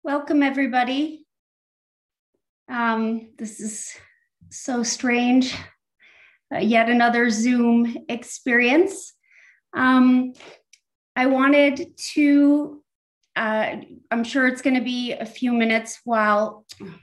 Welcome, everybody. This is so strange. Yet another Zoom experience. I wanted to, I'm sure it's going to be a few minutes while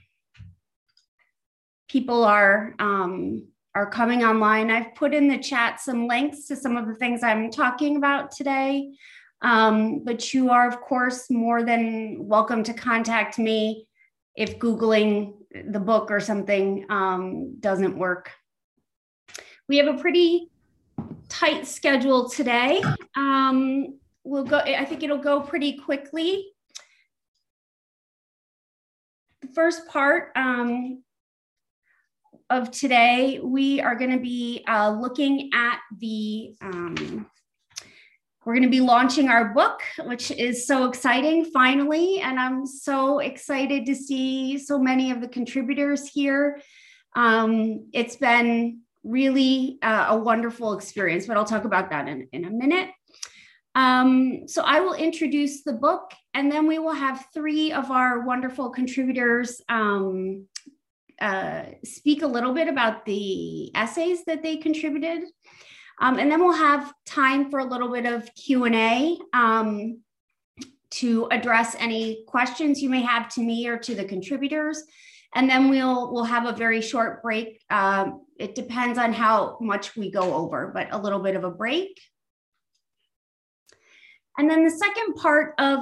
people are coming online. I've put in the chat some links to some of the things I'm talking about today. But you are, of course, more than welcome to contact me if Googling the book or something doesn't work. We have a pretty tight schedule today. I think it'll go pretty quickly. The first part of today, we are going to be looking at we're going to be launching our book, which is so exciting, finally. And I'm so excited to see so many of the contributors here. It's been really a wonderful experience, but I'll talk about that in a minute. So I will introduce the book, and then we will have three of our wonderful contributors speak a little bit about the essays that they contributed. And then we'll have time for a little bit of Q&A to address any questions you may have to me or to the contributors. And then we'll have a very short break. It depends on how much we go over, but a little bit of a break. And then the second part of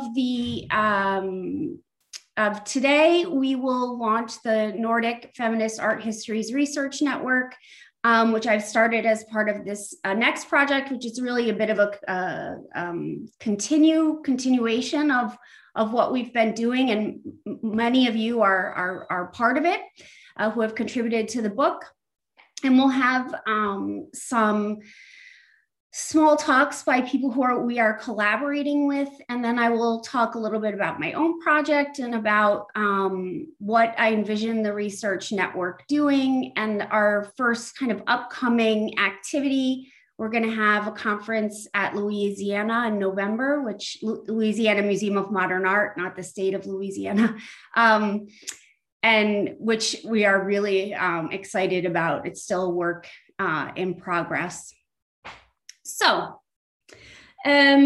today, we will launch the Nordic Feminist Art Histories Research Network, which I've started as part of this next project, which is really a bit of a continuation of what we've been doing. And many of you are part of it who have contributed to the book. And we'll have some small talks by people we are collaborating with. And then I will talk a little bit about my own project and about what I envision the research network doing. And our first kind of upcoming activity, we're going to have a conference at Louisiana in November, which Louisiana Museum of Modern Art, not the state of Louisiana, and which we are really excited about. It's still a work in progress. So let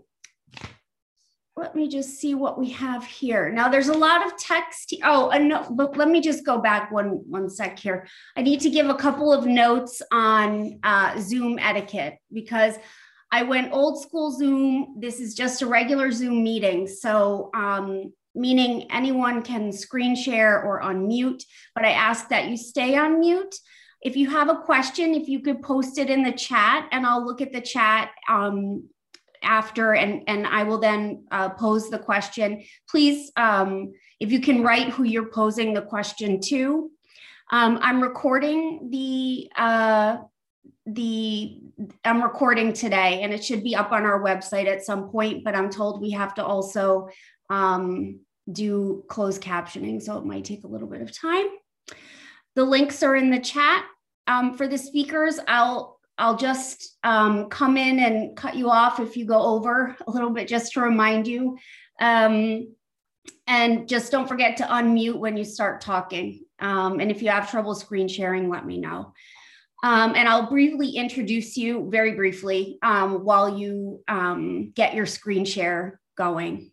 me just see what we have here. Now there's a lot of text. But let me just go back one sec here. I need to give a couple of notes on Zoom etiquette because I went old school Zoom. This is just a regular Zoom meeting. So meaning anyone can screen share or unmute, but I ask that you stay on mute. If you have a question, if you could post it in the chat, and I'll look at the chat after, and I will then pose the question. Please, if you can write who you're posing the question to. I'm recording I'm recording today, and it should be up on our website at some point, but I'm told we have to also do closed captioning, so it might take a little bit of time. The links are in the chat. For the speakers, I'll just come in and cut you off if you go over a little bit, just to remind you. And just don't forget to unmute when you start talking. And if you have trouble screen sharing, let me know. And I'll briefly introduce you, very briefly, while you get your screen share going.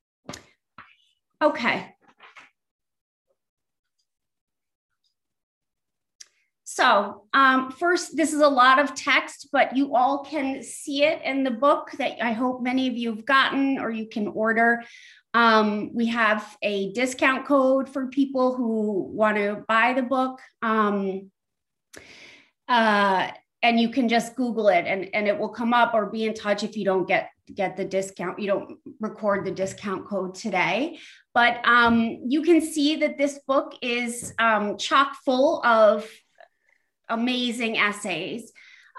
Okay. So first, this is a lot of text, but you all can see it in the book that I hope many of you have gotten or you can order. We have a discount code for people who want to buy the book. And you can just Google it and it will come up, or be in touch if you don't get the discount, you don't record the discount code today. But you can see that this book is chock full of amazing essays.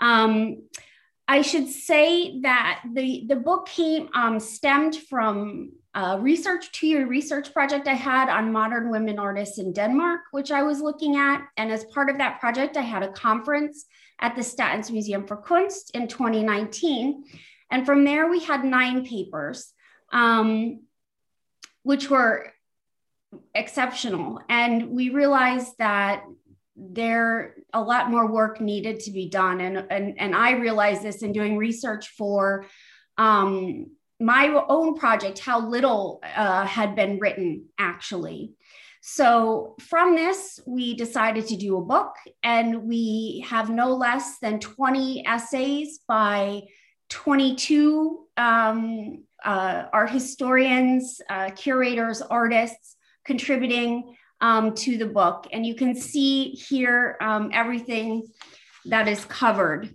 I should say that the book stemmed from a two-year research project I had on modern women artists in Denmark, which I was looking at. And as part of that project, I had a conference at the Statens Museum for Kunst in 2019. And from there, we had 9 papers, which were exceptional. And we realized that there a lot more work needed to be done. And I realized this in doing research for my own project, how little had been written actually. So from this, we decided to do a book, and we have no less than 20 essays by 22 art historians, curators, artists contributing to the book. And you can see here everything that is covered.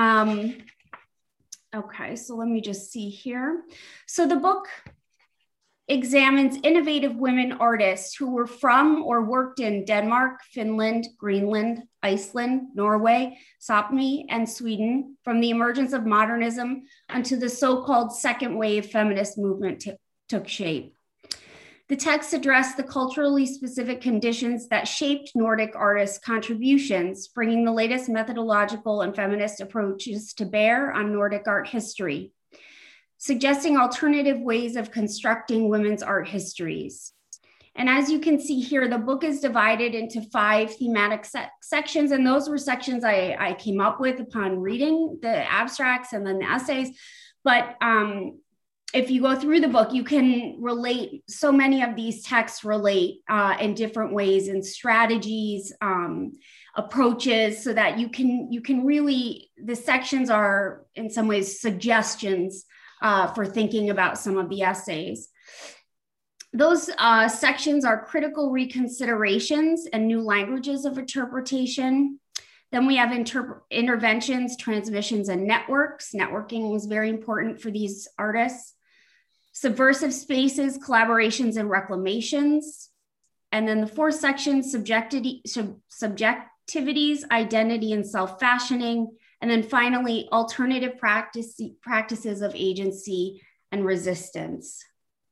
Okay, so let me just see here. So the book examines innovative women artists who were from or worked in Denmark, Finland, Greenland, Iceland, Norway, Sapmi, and Sweden from the emergence of modernism until the so-called second wave feminist movement took shape. The text addressed the culturally specific conditions that shaped Nordic artists' contributions, bringing the latest methodological and feminist approaches to bear on Nordic art history, suggesting alternative ways of constructing women's art histories. And as you can see here, the book is divided into 5 thematic sections, and those were sections I came up with upon reading the abstracts and then the essays. But if you go through the book, you can relate, so many of these texts relate in different ways, and strategies, approaches, so that you can really, the sections are in some ways suggestions for thinking about some of the essays. Those sections are critical reconsiderations and new languages of interpretation. Then we have interventions, transmissions, and networks. Networking was very important for these artists. Subversive spaces, collaborations, and reclamations. And then the 4th section, subjectivities, identity, and self-fashioning. And then finally, alternative practices of agency and resistance.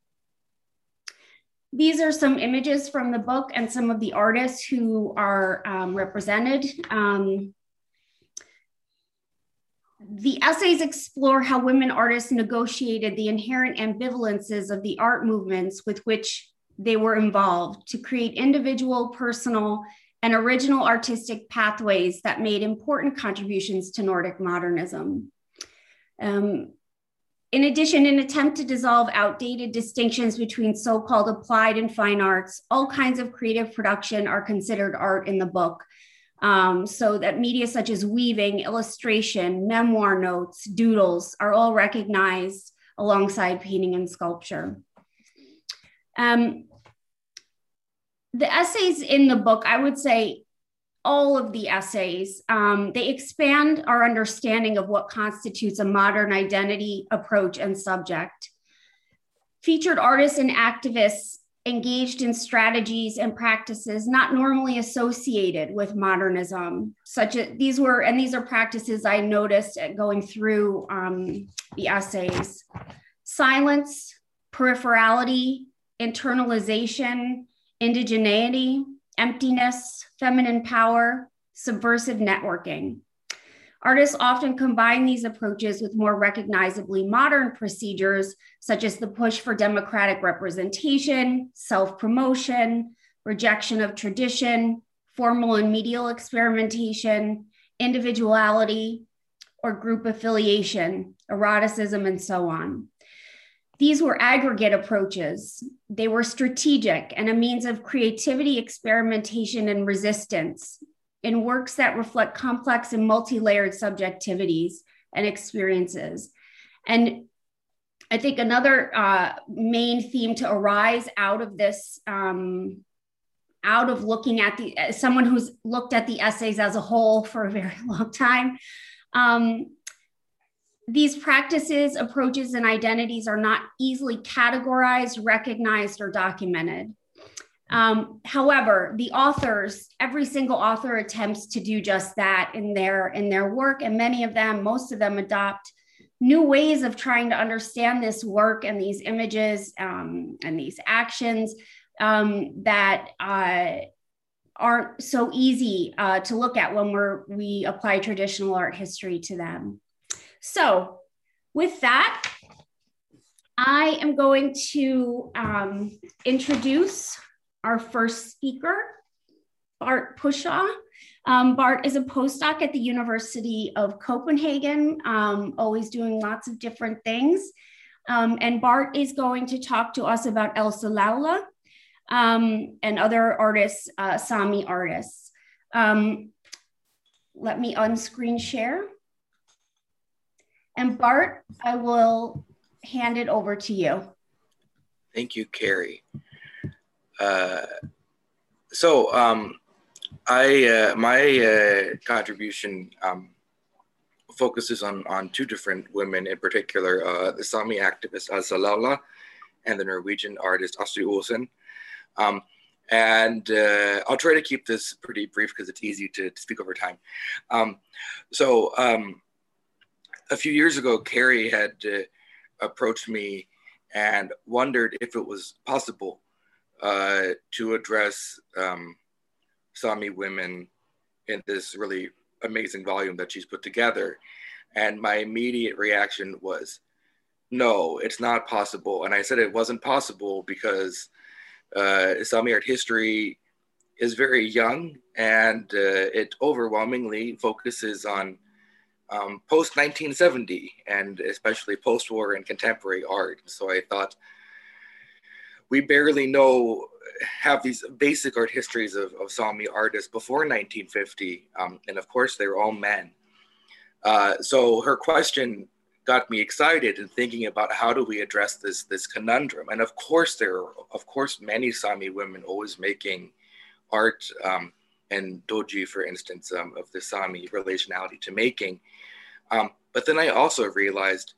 These are some images from the book and some of the artists who are represented. The essays explore how women artists negotiated the inherent ambivalences of the art movements with which they were involved to create individual, personal, and original artistic pathways that made important contributions to Nordic modernism. In addition, in an attempt to dissolve outdated distinctions between so-called applied and fine arts, all kinds of creative production are considered art in the book. So that media such as weaving, illustration, memoir notes, doodles are all recognized alongside painting and sculpture. The essays in the book, I would say all of the essays, they expand our understanding of what constitutes a modern identity, approach, and subject. Featured artists and activists engaged in strategies and practices not normally associated with modernism, such as these are practices I noticed at going through the essays: silence, peripherality, internalization, indigeneity, emptiness, feminine power, subversive networking. Artists often combine these approaches with more recognizably modern procedures, such as the push for democratic representation, self-promotion, rejection of tradition, formal and medial experimentation, individuality, or group affiliation, eroticism, and so on. These were aggregate approaches. They were strategic and a means of creativity, experimentation, and resistance in works that reflect complex and multi-layered subjectivities and experiences. And I think another main theme to arise out of this, out of looking at someone who's looked at the essays as a whole for a very long time, these practices, approaches, and identities are not easily categorized, recognized, or documented. However, the authors, every single author attempts to do just that in their work, and many of them, most of them, adopt new ways of trying to understand this work and these images and these actions that aren't so easy to look at when we apply traditional art history to them. So with that, I am going to introduce our first speaker, Bart Pushaw. Bart is a postdoc at the University of Copenhagen, always doing lots of different things. And Bart is going to talk to us about Elsa Laula and other artists, Sami artists. Let me unscreen share. And Bart, I will hand it over to you. Thank you, Carrie. My contribution focuses on two different women in particular, the Sami activist Elsa Laula and the Norwegian artist Astrid Olsen. I'll try to keep this pretty brief because it's easy to speak over time. A few years ago, Carrie had approached me and wondered if it was possible to address Sami women in this really amazing volume that she's put together. And my immediate reaction was, no, it's not possible. And I said it wasn't possible because Sami art history is very young and it overwhelmingly focuses on post-1970 and especially post-war and contemporary art. So I thought, we barely have these basic art histories of Sami artists before 1950. And of course, they were all men. So her question got me excited and thinking about how do we address this conundrum. And of course, there are, many Sami women always making art and doji, for instance, of the Sami relationality to making. But then I also realized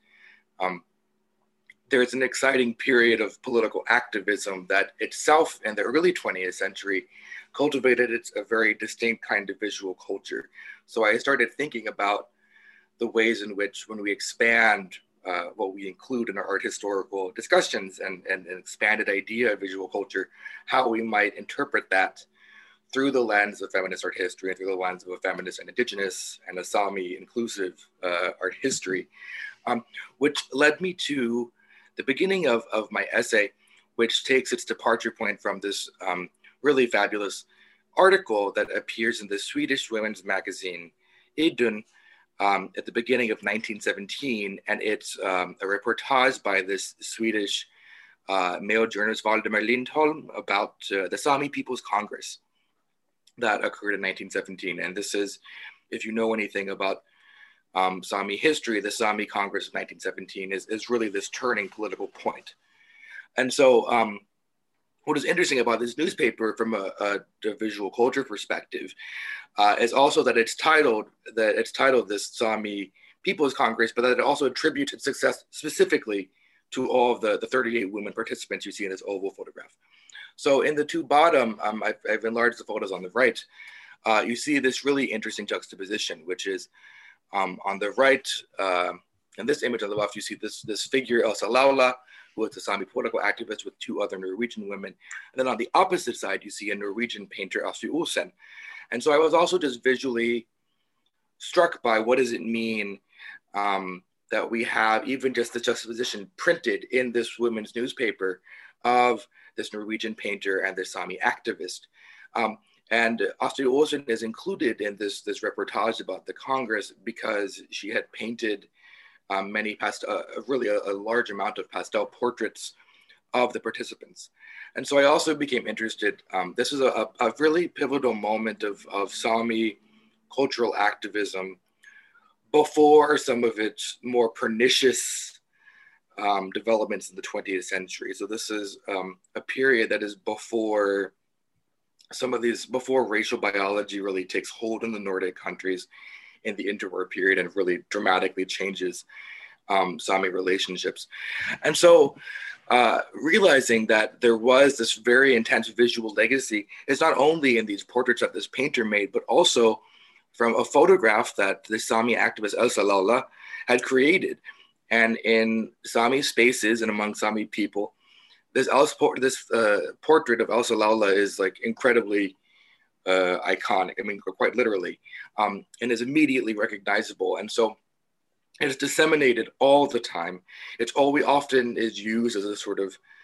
there's an exciting period of political activism that itself in the early 20th century cultivated a very distinct kind of visual culture. So I started thinking about the ways in which when we expand what we include in our art historical discussions and an expanded idea of visual culture, how we might interpret that through the lens of feminist art history and through the lens of a feminist and indigenous and a Sami inclusive art history, which led me to the beginning of my essay, which takes its departure point from this really fabulous article that appears in the Swedish women's magazine, Idun, at the beginning of 1917. And it's a reportage by this Swedish male journalist, Valdemar Lindholm, about the Sami People's Congress that occurred in 1917. And this is, if you know anything about Sami history, the Sami Congress of 1917 is really this turning political point. And so what is interesting about this newspaper from a visual culture perspective is also that it's titled this Sami People's Congress, but that it also attributes its success specifically to all of the 38 women participants you see in this oval photograph. So in the two bottom, I've enlarged the photos on the right, you see this really interesting juxtaposition, which is on the right, in this image on the left, you see this figure, Elsa Laula, who is a Sami political activist with two other Norwegian women. And then on the opposite side, you see a Norwegian painter, Astrid Olsen. And so I was also just visually struck by what does it mean that we have even just the juxtaposition printed in this women's newspaper of this Norwegian painter and this Sami activist. And Astrid Olsen is included in this reportage about the Congress because she had painted really a large amount of pastel portraits of the participants. And so I also became interested. This is a really pivotal moment of Sami cultural activism before some of its more pernicious developments in the 20th century. So this is a period that is before racial biology really takes hold in the Nordic countries in the interwar period and really dramatically changes Sami relationships. And so realizing that there was this very intense visual legacy is not only in these portraits that this painter made, but also from a photograph that the Sami activist Elsa Laula had created. And in Sami spaces and among Sami people, this portrait of Elsa Laula is like incredibly iconic, I mean, quite literally, and is immediately recognizable. And so it is disseminated all the time. It's often is used as a sort of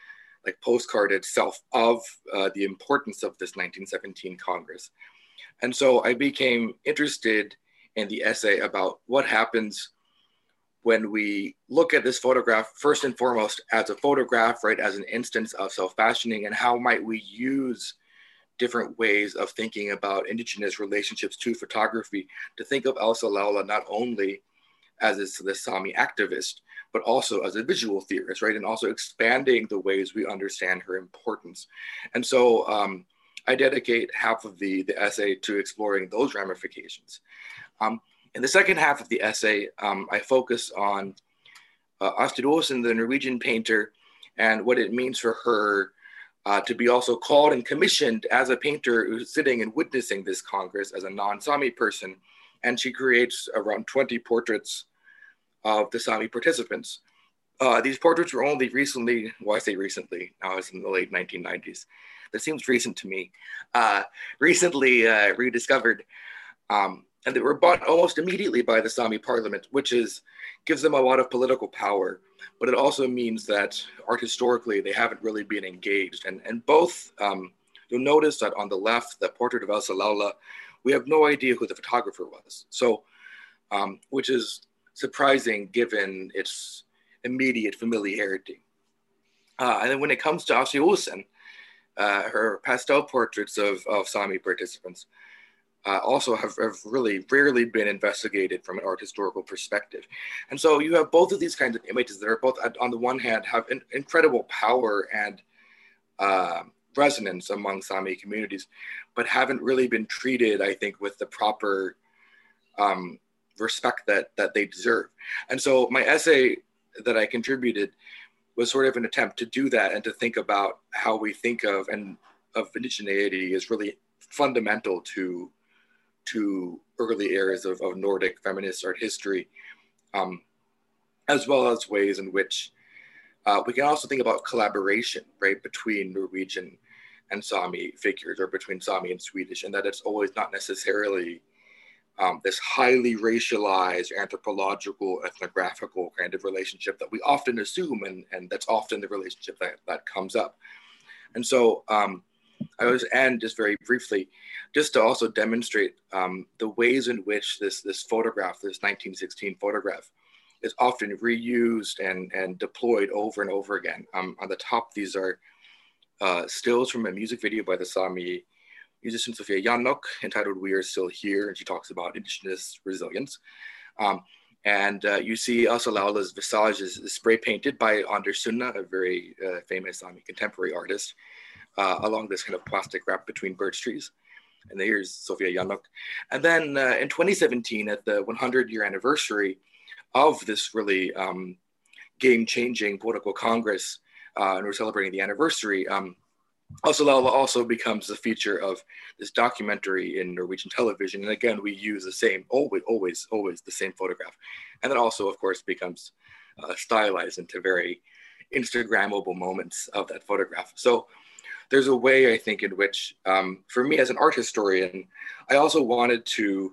like postcard itself of the importance of this 1917 Congress. And so I became interested in the essay about what happens when we look at this photograph, first and foremost, as a photograph, right, as an instance of self-fashioning, and how might we use different ways of thinking about indigenous relationships to photography to think of Elsa Laula not only as the Sami activist, but also as a visual theorist, right? And also expanding the ways we understand her importance. And so I dedicate half of the essay to exploring those ramifications. In the second half of the essay, I focus on Astrid Olsen, the Norwegian painter, and what it means for her to be also called and commissioned as a painter who's sitting and witnessing this Congress as a non-Sami person. And she creates around 20 portraits of the Sami participants. These portraits were only recently, well, I say recently, now it's in the late 1990s. That seems recent to me. Recently rediscovered. And they were bought almost immediately by the Sami parliament, which gives them a lot of political power. But it also means that art historically, they haven't really been engaged. And both, you'll notice that on the left, the portrait of Elsa Laula, we have no idea who the photographer was. So, which is surprising given its immediate familiarity. And then when it comes to Astrid Olsen, her pastel portraits of Sami participants also have really rarely been investigated from an art historical perspective. And so you have both of these kinds of images that are both, on the one hand, have an incredible power and resonance among Sami communities, but haven't really been treated, I think, with the proper respect that they deserve. And so my essay that I contributed was sort of an attempt to do that and to think about how we think of indigeneity is really fundamental to early eras of Nordic feminist art history, as well as ways in which we can also think about collaboration, right, between Norwegian and Sami figures, or between Sami and Swedish, and that it's always not necessarily this highly racialized, anthropological, ethnographical kind of relationship that we often assume, and that's often the relationship that comes up. And so I was, and just very briefly, just to also demonstrate the ways in which this photograph, this 1916 photograph, is often reused and deployed over and over again. On the top, these are stills from a music video by the Sami musician Sofia Jannok entitled "We Are Still Here," and she talks about indigenous resilience. You see Elsa Laula's visage is spray painted by Anders Sunna, a very famous Sami contemporary artist, along this kind of plastic wrap between birch trees. And here's Sofia Jannok. And then in 2017, at the 100-year anniversary of this really game-changing political Congress, and we're celebrating the anniversary, Elsa Laula also becomes the feature of this documentary in Norwegian television. And again, we use the same, always the same photograph. And then also, of course, becomes stylized into very Instagrammable moments of that photograph. So there's a way, I think, in which, for me as an art historian, I also wanted to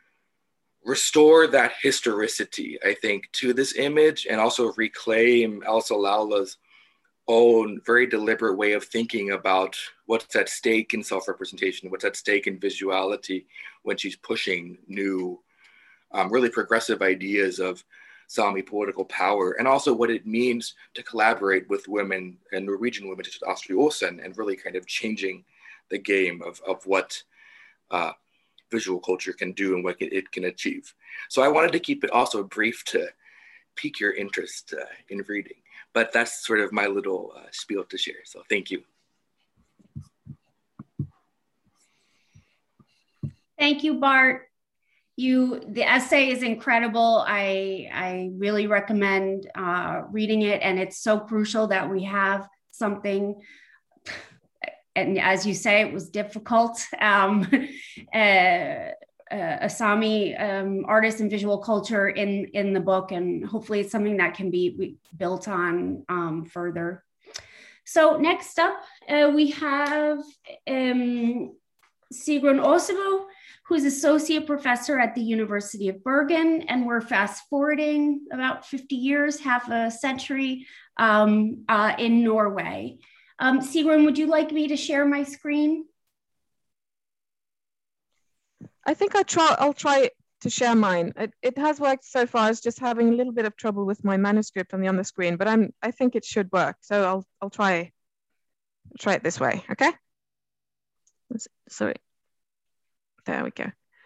restore that historicity, I think, to this image, and also reclaim Elsa Laula's own very deliberate way of thinking about what's at stake in self-representation, what's at stake in visuality when she's pushing new, really progressive ideas of Sami political power, and also what it means to collaborate with women and Norwegian women such as Astrid Olsen, and really kind of changing the game of what visual culture can do and what it can achieve. So I wanted to keep it also brief to pique your interest in reading. But that's sort of my little spiel to share. So thank you. Thank you, Bart. The essay is incredible. I really recommend reading it, and it's so crucial that we have something. And as you say, it was difficult. A Sami artist and visual culture in the book, and hopefully it's something that can be built on further. So next up, we have Sigrun Osebo, who's associate professor at the University of Bergen, and we're fast forwarding about 50 years, half a century in Norway. Sigrun, would you like me to share my screen? I think I'll try to share mine. It has worked so far. I was just having a little bit of trouble with my manuscript on the screen, but I think it should work. So I'll try it this way. Okay. Sorry. There we go.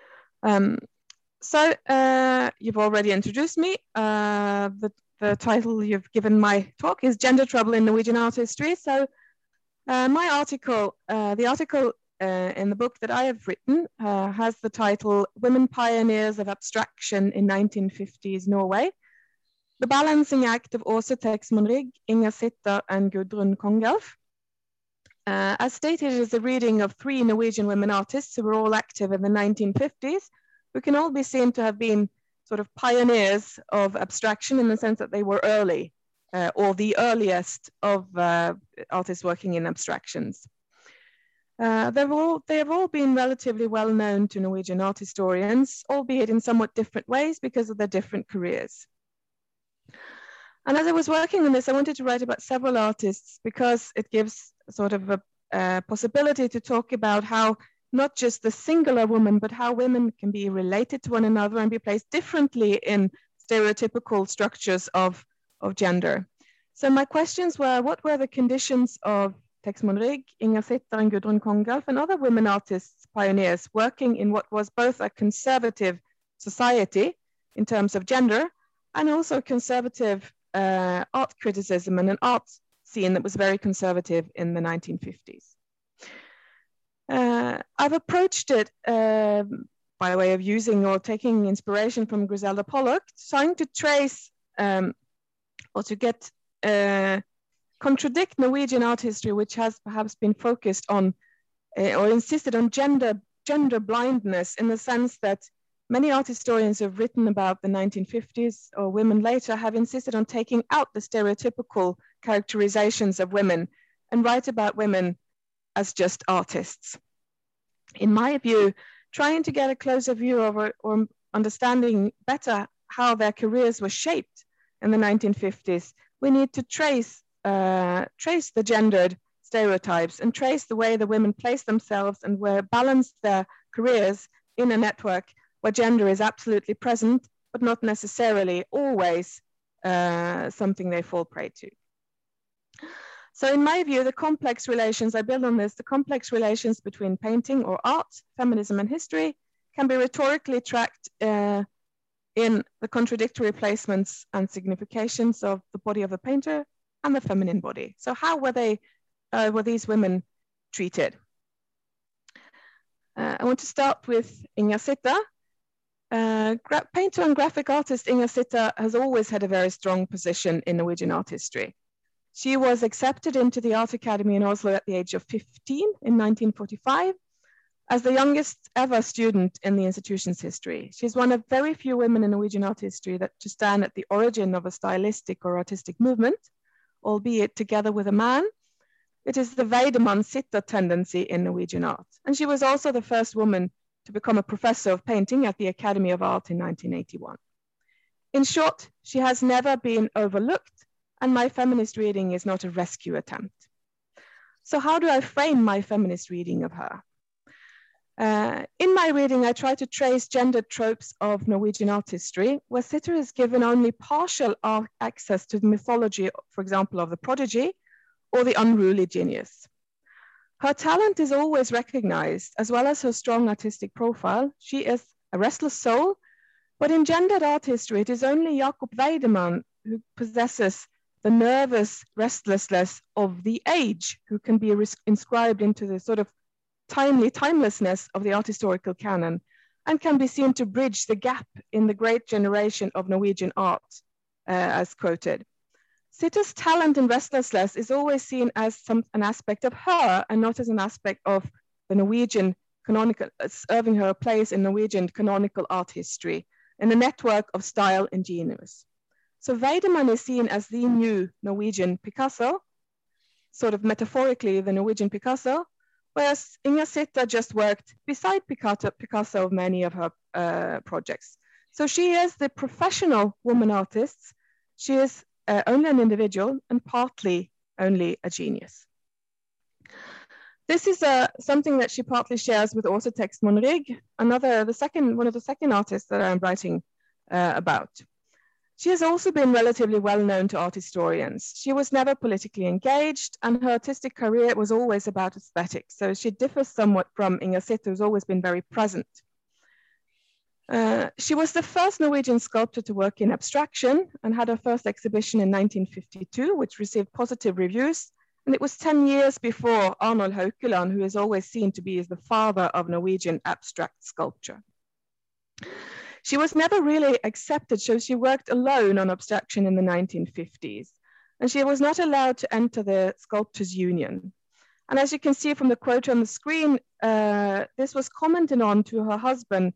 So you've already introduced me. The title you've given my talk is Gender Trouble in Norwegian Art History. So my article, the article in the book that I have written has the title Women Pioneers of Abstraction in 1950s Norway, The Balancing Act of Åse Texmann-Rygg, Inger Sitter, and Gudrun Kongelf. As stated, it is a reading of 3 Norwegian women artists who were all active in the 1950s, who can all be seen to have been sort of pioneers of abstraction in the sense that they were early, or the earliest of artists working in abstractions. They have all been relatively well known to Norwegian art historians, albeit in somewhat different ways because of their different careers. And as I was working on this, I wanted to write about several artists because it gives sort of a possibility to talk about how not just the singular woman, but how women can be related to one another and be placed differently in stereotypical structures of gender. So my questions were, what were the conditions of Texmann-Rygg, Inger Sitter, and Gudrun Kongelf, and other women artists, pioneers, working in what was both a conservative society in terms of gender, and also conservative art criticism and an art scene that was very conservative in the 1950s. I've approached it by way of using or taking inspiration from Griselda Pollock, trying to trace or to get contradict Norwegian art history, which has perhaps been focused on or insisted on gender blindness, in the sense that many art historians who have written about the 1950s or women later have insisted on taking out the stereotypical characterizations of women and write about women as just artists. In my view, trying to get a closer view of or understanding better how their careers were shaped in the 1950s, we need to trace the gendered stereotypes and trace the way the women place themselves and where balance their careers in a network where gender is absolutely present, but not necessarily always something they fall prey to. So in my view, the complex relations, I build on this, the complex relations between painting or art, feminism and history can be rhetorically tracked in the contradictory placements and significations of the body of a painter and the feminine body. So how were these women treated? I want to start with Inger Sitter. Painter and graphic artist Inger Sitter has always had a very strong position in Norwegian art history. She was accepted into the Art Academy in Oslo at the age of 15 in 1945 as the youngest ever student in the institution's history. She's one of very few women in Norwegian art history to stand at the origin of a stylistic or artistic movement, albeit together with a man. It is the Wiedemann-Sitter tendency in Norwegian art. And she was also the first woman to become a professor of painting at the Academy of Art in 1981. In short, she has never been overlooked, and my feminist reading is not a rescue attempt. So how do I frame my feminist reading of her? In my reading, I try to trace gender tropes of Norwegian art history, where Sitter is given only partial access to the mythology, for example, of the prodigy or the unruly genius. Her talent is always recognized, as well as her strong artistic profile. She is a restless soul, but in gendered art history, it is only Jakob Wiedemann who possesses the nervous restlessness of the age, who can be inscribed into the sort of timely timelessness of the art historical canon, and can be seen to bridge the gap in the great generation of Norwegian art, as quoted. Sitter's talent and restlessness is always seen as an aspect of her and not as an aspect of the Norwegian canonical, serving her a place in Norwegian canonical art history in a network of style and genius. So Wiedemann is seen as the new Norwegian Picasso, sort of metaphorically the Norwegian Picasso, whereas Inger Sitter just worked beside Picasso of many of her projects. So she is the professional woman artist. She is only an individual and partly only a genius. This is something that she partly shares with Åse Textman Rigg, one of the second artists that I'm writing about. She has also been relatively well known to art historians. She was never politically engaged, and her artistic career was always about aesthetics. So she differs somewhat from Inger Sitter, who's always been very present. She was the first Norwegian sculptor to work in abstraction and had her first exhibition in 1952, which received positive reviews. And it was 10 years before Arnold Haukeland, who is always seen to be as the father of Norwegian abstract sculpture. She was never really accepted, so she worked alone on abstraction in the 1950s. And she was not allowed to enter the Sculptors' Union. And as you can see from the quote on the screen, this was commented on to her husband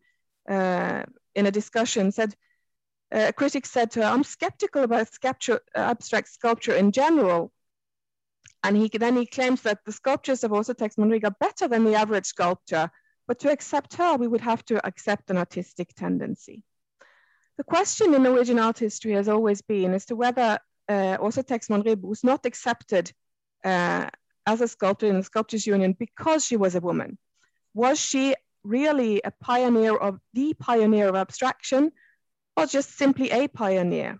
in a discussion. A critic said to her, "I'm skeptical about abstract sculpture in general." And then he claims that the sculptures of Åse Textman Rigg are better than the average sculptor, but to accept her, we would have to accept an artistic tendency. The question in Norwegian art history has always been as to whether Åse Textman Rigg was not accepted as a sculptor in the Sculptors' Union because she was a woman. Was she really the pioneer of abstraction, or just simply a pioneer?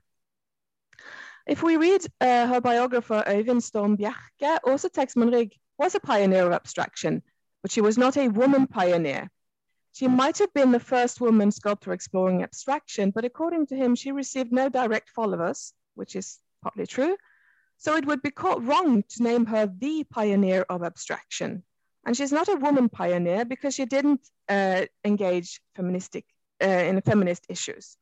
If we read her biographer Øyvind Storm Bjerke, Åse Textman Rigg was a pioneer of abstraction, but she was not a woman pioneer. She might have been the first woman sculptor exploring abstraction, but according to him, she received no direct followers, which is partly true. So it would be wrong to name her the pioneer of abstraction. And she's not a woman pioneer because she didn't engage in feminist issues.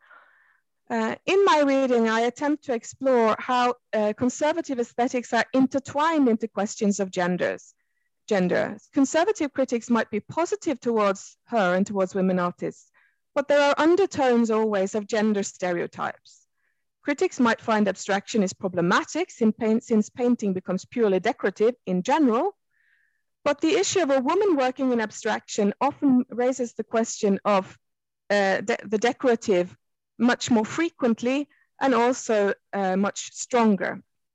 In my reading, I attempt to explore how conservative aesthetics are intertwined into questions of gender. Conservative critics might be positive towards her and towards women artists, but there are undertones always of gender stereotypes. Critics might find abstraction is problematic since painting becomes purely decorative in general, but the issue of a woman working in abstraction often raises the question of the decorative much more frequently and also much stronger.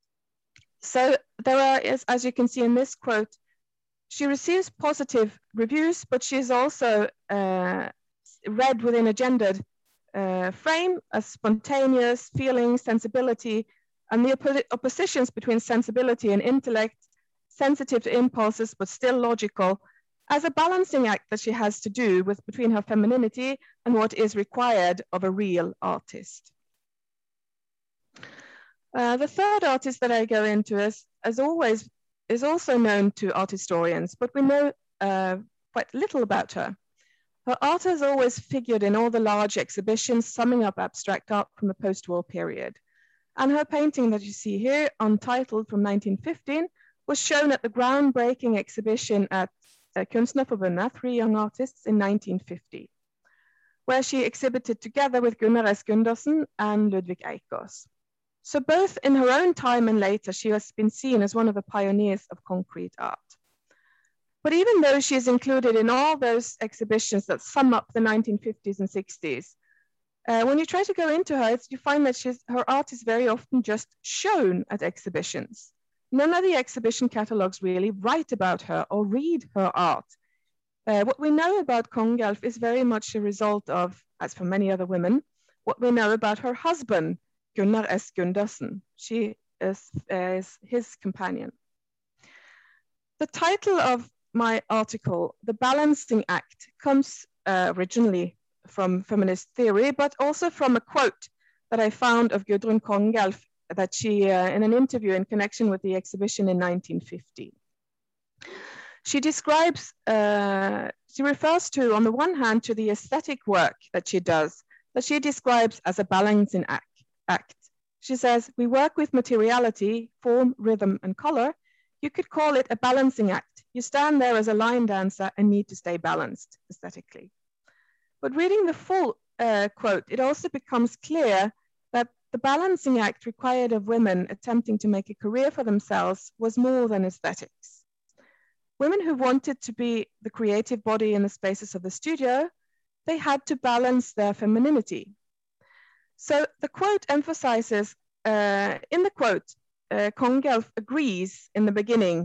So there are, as you can see in this quote, she receives positive reviews, but she's also read within a gendered frame as spontaneous feeling, sensibility, and the oppositions between sensibility and intellect, sensitive to impulses, but still logical, as a balancing act that she has to do with between her femininity and what is required of a real artist. The third artist that I go into as always, is also known to art historians, but we know quite little about her. Her art has always figured in all the large exhibitions summing up abstract art from the post-war period. And her painting that you see here, Untitled from 1915, was shown at the groundbreaking exhibition at Kunstnerforbundet, 3 young artists, in 1950, where she exhibited together with Gunnar S. Gundersen and Ludvig Eikås. So both in her own time and later, she has been seen as one of the pioneers of concrete art. But even though she is included in all those exhibitions that sum up the 1950s and 60s, when you try to go into her, you find that her art is very often just shown at exhibitions. None of the exhibition catalogs really write about her or read her art. What we know about Kongelf is very much a result of, as for many other women, what we know about her husband, Gunnar S. Gundersen. She is his companion. The title of my article, The Balancing Act, comes originally from feminist theory, but also from a quote that I found of Gudrun Kongelf that she, in an interview in connection with the exhibition in 1950. She describes, she refers to, on the one hand, to the aesthetic work that she does, that she describes as a balancing act. She says, we work with materiality, form, rhythm, and color. You could call it a balancing act. You stand there as a line dancer and need to stay balanced aesthetically. But reading the full quote, it also becomes clear that the balancing act required of women attempting to make a career for themselves was more than aesthetics. Women who wanted to be the creative body in the spaces of the studio, they had to balance their femininity. So the quote emphasizes, in the quote, Kongelf agrees in the beginning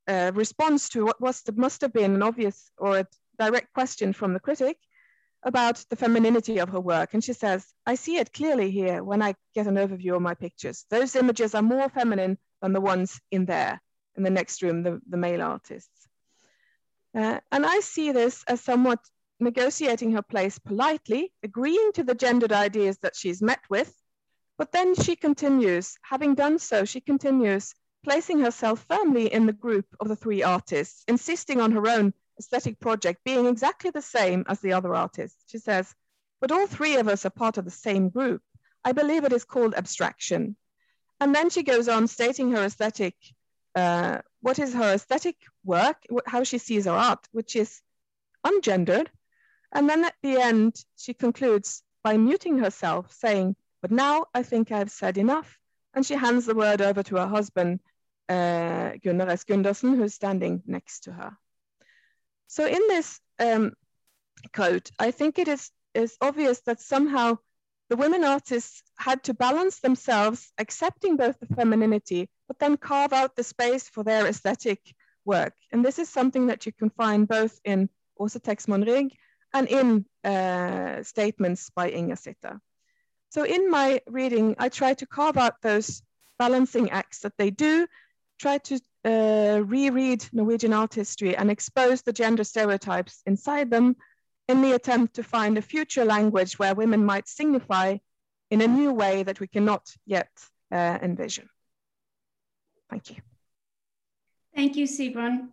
response to what must have been an obvious or a direct question from the critic about the femininity of her work. And she says, I see it clearly here when I get an overview of my pictures. Those images are more feminine than the ones in there, in the next room, the male artists. And I see this as somewhat negotiating her place politely, agreeing to the gendered ideas that she's met with, but then she continues, having done so, she continues placing herself firmly in the group of the three artists, insisting on her own aesthetic project being exactly the same as the other artists. She says, but all three of us are part of the same group. I believe it is called abstraction. And then she goes on stating her aesthetic, what is her aesthetic work, how she sees her art, which is ungendered. And then at the end, she concludes by muting herself, saying, but now I think I've said enough. And she hands the word over to her husband, Gunnar S. Gundersen, who's standing next to her. So in this quote, I think it is obvious that somehow the women artists had to balance themselves, accepting both the femininity, but then carve out the space for their aesthetic work. And this is something that you can find both in Åse Texman-Rigg and in statements by Inger Sitter. So in my reading, I try to carve out those balancing acts that they do, try to reread Norwegian art history and expose the gender stereotypes inside them in the attempt to find a future language where women might signify in a new way that we cannot yet envision. Thank you. Thank you, Sigrun.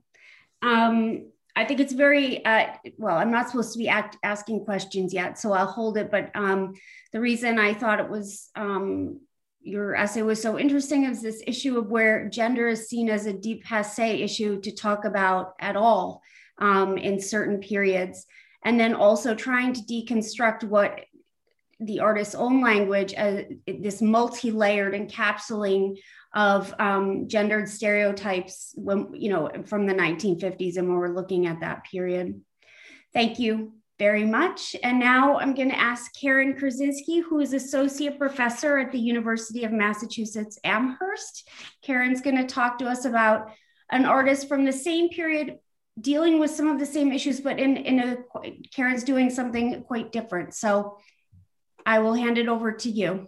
I think it's very, well, I'm not supposed to be asking questions yet, so I'll hold it. But the reason I thought it was, your essay was so interesting is this issue of where gender is seen as a dépassé issue to talk about at all in certain periods. And then also trying to deconstruct what the artist's own language, this multi-layered encapsulating of gendered stereotypes when, you know, from the 1950s and when we're looking at that period. Thank you very much. And now I'm going to ask Karen Krasinski, who is Associate Professor at the University of Massachusetts Amherst. Karen's going to talk to us about an artist from the same period dealing with some of the same issues, but Karen's doing something quite different. So I will hand it over to you.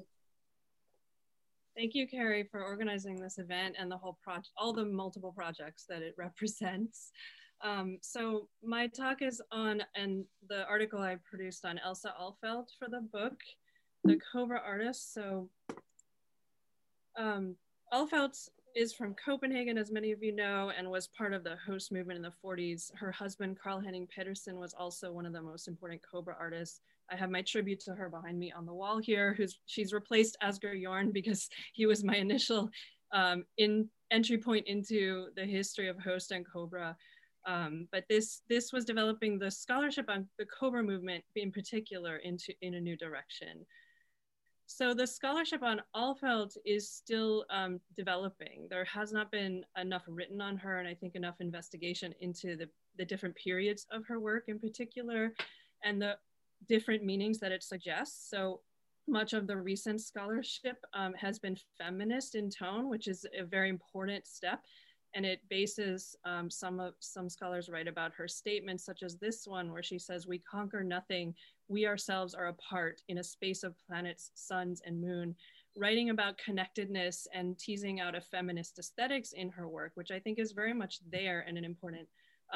Thank you, Carrie, for organizing this event and the whole project, all the multiple projects that it represents. So my talk is on, and the article I produced on Elsa Alfeld for the book, The Cobra Artist. So Alfeld is from Copenhagen, as many of you know, and was part of the Host movement in the 40s. Her husband, Carl Henning Pedersen, was also one of the most important Cobra artists. I have my tribute to her behind me on the wall here. She's replaced Asger Jorn because he was my initial entry point into the history of Host and Cobra. But this was developing the scholarship on the Cobra movement in particular in a new direction. So the scholarship on Alfeld is still developing. There has not been enough written on her, and I think enough investigation into the different periods of her work in particular, and the different meanings that it suggests. So much of the recent scholarship has been feminist in tone, which is a very important step. And it bases, some scholars write about her statements, such as this one, where she says, "We conquer nothing. We ourselves are a part in a space of planets, suns, and moon," writing about connectedness and teasing out a feminist aesthetics in her work, which I think is very much there and an important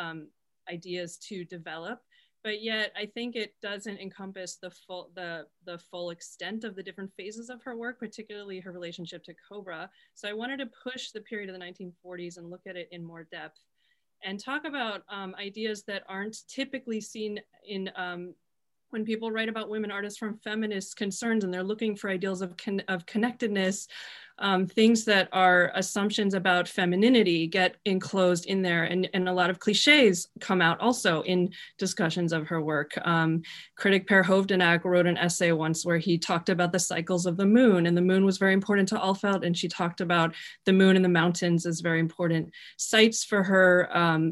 ideas to develop. But yet I think it doesn't encompass the full extent of the different phases of her work, particularly her relationship to Cobra. So I wanted to push the period of the 1940s and look at it in more depth and talk about ideas that aren't typically seen in when people write about women artists from feminist concerns and they're looking for ideals of connectedness. Things that are assumptions about femininity get enclosed in there, and a lot of cliches come out also in discussions of her work. Critic Per Hovdenak wrote an essay once where he talked about the cycles of the moon, and the moon was very important to Alfeld, and she talked about the moon and the mountains as very important sites for her.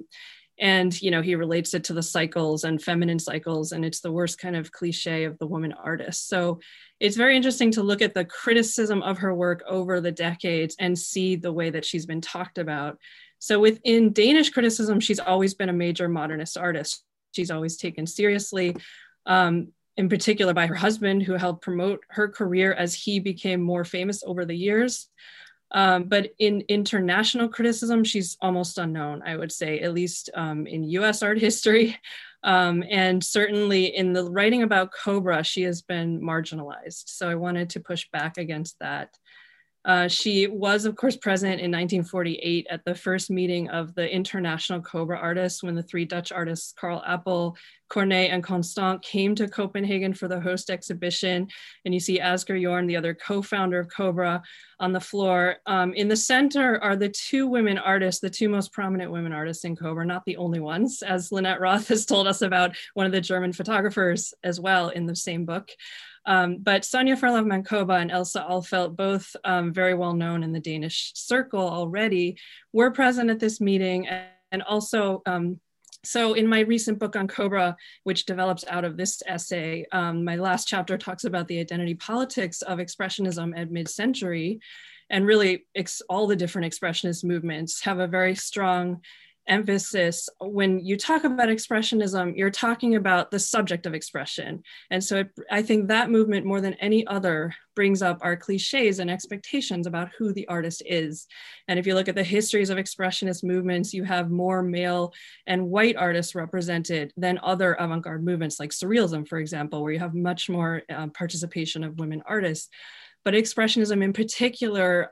And, you know, he relates it to the cycles and feminine cycles, and it's the worst kind of cliche of the woman artist. So it's very interesting to look at the criticism of her work over the decades and see the way that she's been talked about. So within Danish criticism, she's always been a major modernist artist. She's always taken seriously, in particular by her husband, who helped promote her career as he became more famous over the years. But in international criticism, she's almost unknown, I would say, at least in US art history. And certainly in the writing about Cobra, she has been marginalized. So I wanted to push back against that. She was, of course, present in 1948 at the first meeting of the International Cobra Artists, when the three Dutch artists, Carl Appel, Corneille, and Constant, came to Copenhagen for the host exhibition. And you see Asger Jorn, the other co-founder of Cobra, on the floor. In the center are the two women artists, the two most prominent women artists in Cobra, not the only ones, as Lynette Roth has told us about, one of the German photographers as well in the same book. But Sonja Farlow-Mancoba and Elsa Alfeldt, both very well known in the Danish circle already, were present at this meeting. And also, so in my recent book on Cobra, which develops out of this essay, my last chapter talks about the identity politics of Expressionism at mid-century. And really, all the different Expressionist movements have a very strong emphasis. When you talk about Expressionism, you're talking about the subject of expression. And so I think that movement, more than any other, brings up our cliches and expectations about who the artist is. And if you look at the histories of Expressionist movements, you have more male and white artists represented than other avant-garde movements, like Surrealism, for example, where you have much more participation of women artists. But Expressionism in particular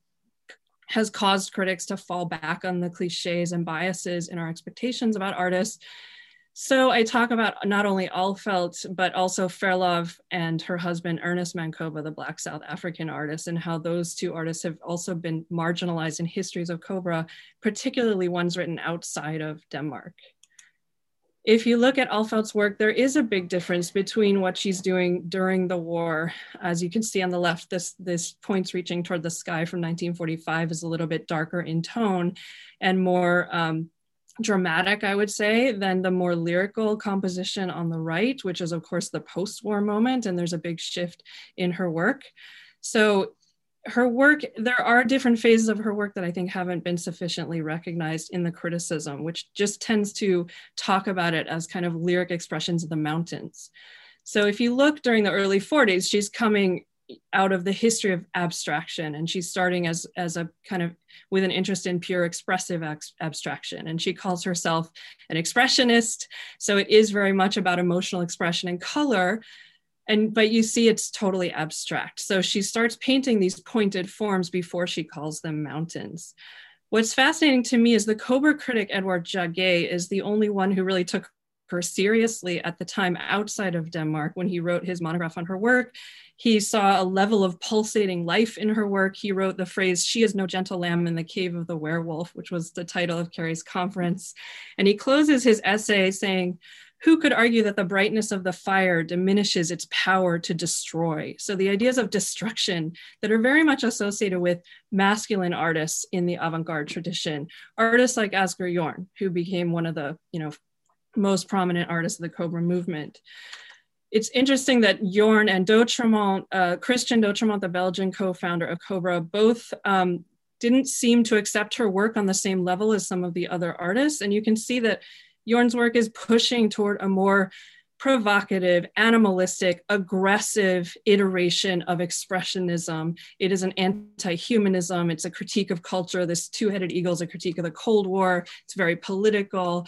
has caused critics to fall back on the cliches and biases in our expectations about artists. So I talk about not only Alfeldt, but also Farlow and her husband, Ernest Mancoba, the Black South African artist, and how those two artists have also been marginalized in histories of Cobra, particularly ones written outside of Denmark. If you look at Alfeldt's work, there is a big difference between what she's doing during the war. As you can see on the left, this Points Reaching Toward the Sky from 1945 is a little bit darker in tone and more dramatic, I would say, than the more lyrical composition on the right, which is of course the post-war moment, and there's a big shift in her work. So her work, there are different phases of her work that I think haven't been sufficiently recognized in the criticism, which just tends to talk about it as kind of lyric expressions of the mountains. So if you look during the early 40s, she's coming out of the history of abstraction, and she's starting as a kind of with an interest in pure expressive abstraction. And she calls herself an expressionist. So it is very much about emotional expression and color. But you see it's totally abstract. So she starts painting these pointed forms before she calls them mountains. What's fascinating to me is the Cobra critic Edward Jaget is the only one who really took her seriously at the time outside of Denmark. When he wrote his monograph on her work, he saw a level of pulsating life in her work. He wrote the phrase, "She is no gentle lamb in the cave of the werewolf," which was the title of Carrie's conference. And he closes his essay saying, "Who could argue that the brightness of the fire diminishes its power to destroy?" So the ideas of destruction that are very much associated with masculine artists in the avant-garde tradition, artists like Asger Jorn, who became one of the most prominent artists of the Cobra movement. It's interesting that Jorn and D'Autremont, Christian D'Autremont, the Belgian co-founder of Cobra, both didn't seem to accept her work on the same level as some of the other artists. And you can see that Jorn's work is pushing toward a more provocative, animalistic, aggressive iteration of expressionism. It is an anti-humanism. It's a critique of culture. This two-headed eagle is a critique of the Cold War. It's very political.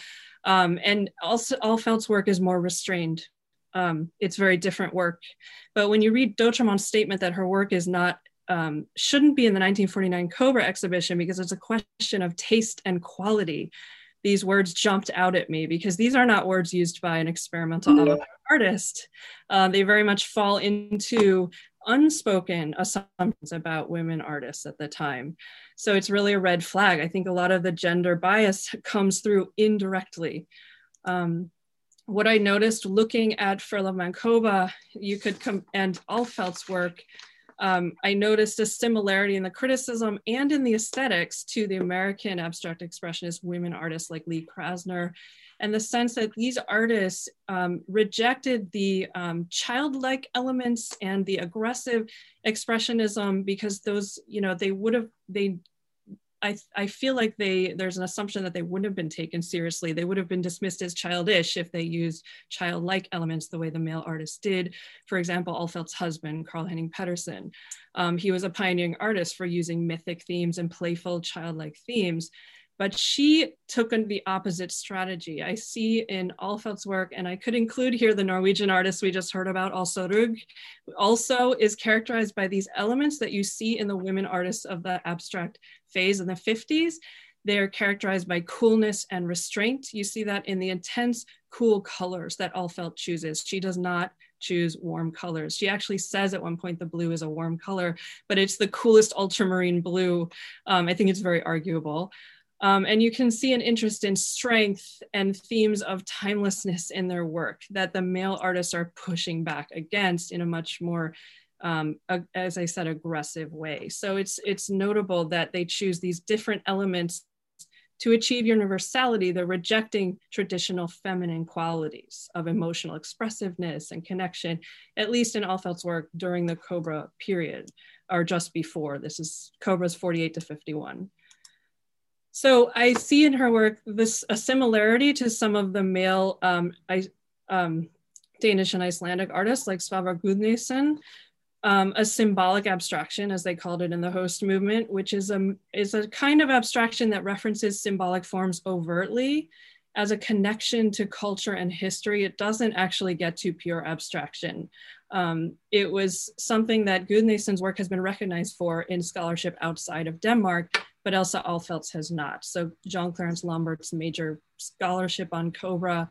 And also Alfeldt's work is more restrained. It's very different work. But when you read D'Autremont's statement that her work is not shouldn't be in the 1949 Cobra exhibition because it's a question of taste and quality, these words jumped out at me because these are not words used by an experimental avant-garde artist. They very much fall into unspoken assumptions about women artists at the time. So it's really a red flag. I think a lot of the gender bias comes through indirectly. What I noticed looking at Farlow-Mancoba, and Alfeldt's work, I noticed a similarity in the criticism and in the aesthetics to the American abstract expressionist women artists like Lee Krasner, and the sense that these artists rejected the childlike elements and the aggressive expressionism because those, I feel like there's an assumption that they wouldn't have been taken seriously. They would have been dismissed as childish if they used childlike elements the way the male artist did. For example, Alfeld's husband, Carl Henning Pedersen. He was a pioneering artist for using mythic themes and playful childlike themes. But she took the opposite strategy. I see in Alfeld's work, and I could include here the Norwegian artist we just heard about, Åse Rugg, also is characterized by these elements that you see in the women artists of the abstract phase in the 50s. They're characterized by coolness and restraint. You see that in the intense, cool colors that Alfeld chooses. She does not choose warm colors. She actually says at one point the blue is a warm color, but it's the coolest ultramarine blue. I think it's very arguable. And you can see an interest in strength and themes of timelessness in their work that the male artists are pushing back against in a much more, as I said, aggressive way. So it's notable that they choose these different elements to achieve universality. They're rejecting traditional feminine qualities of emotional expressiveness and connection, at least in Alfeld's work during the Cobra period, or just before. This is Cobra's 48 to 51. So I see in her work a similarity to some of the male Danish and Icelandic artists like Svavar Gudnason, a symbolic abstraction, as they called it in the host movement, which is a kind of abstraction that references symbolic forms overtly as a connection to culture and history. It doesn't actually get to pure abstraction. It was something that Gudnason's work has been recognized for in scholarship outside of Denmark, but Elsa Alfeld's has not. So John Clarence Lambert's major scholarship on Cobra,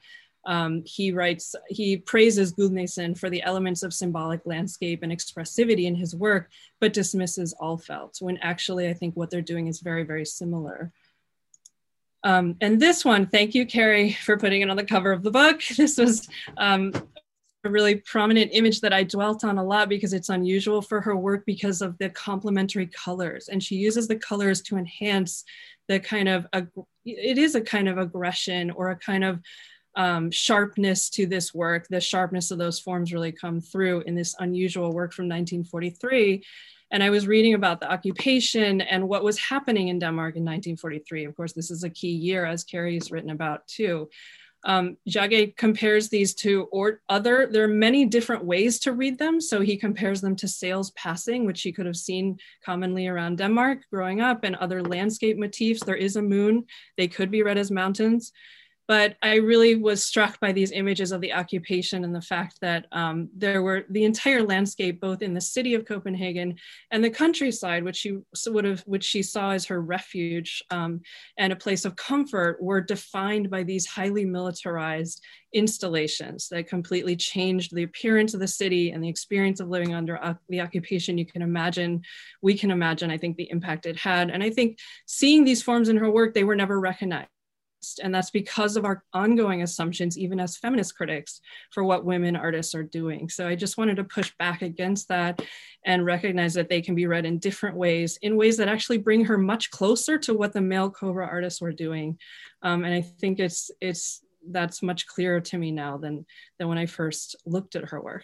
he praises Gudnason for the elements of symbolic landscape and expressivity in his work, but dismisses Alfeld, when actually I think what they're doing is very, very similar. And this one, thank you, Carrie, for putting it on the cover of the book. This was a really prominent image that I dwelt on a lot because it's unusual for her work because of the complementary colors. And she uses the colors to enhance the kind of, it is a kind of aggression or a kind of sharpness to this work. The sharpness of those forms really come through in this unusual work from 1943. And I was reading about the occupation and what was happening in Denmark in 1943. Of course, this is a key year, as Carrie's written about too. Jagge compares these to there are many different ways to read them. So he compares them to sails passing, which he could have seen commonly around Denmark growing up, and other landscape motifs. There is a moon. They could be read as mountains. But I really was struck by these images of the occupation and the fact that there were the entire landscape, both in the city of Copenhagen and the countryside, which she saw as her refuge and a place of comfort, were defined by these highly militarized installations that completely changed the appearance of the city and the experience of living under the occupation. We can imagine, I think, the impact it had. And I think seeing these forms in her work, they were never recognized. And that's because of our ongoing assumptions, even as feminist critics, for what women artists are doing. So I just wanted to push back against that and recognize that they can be read in different ways, in ways that actually bring her much closer to what the male Cobra artists were doing. And I think that's much clearer to me now than when I first looked at her work.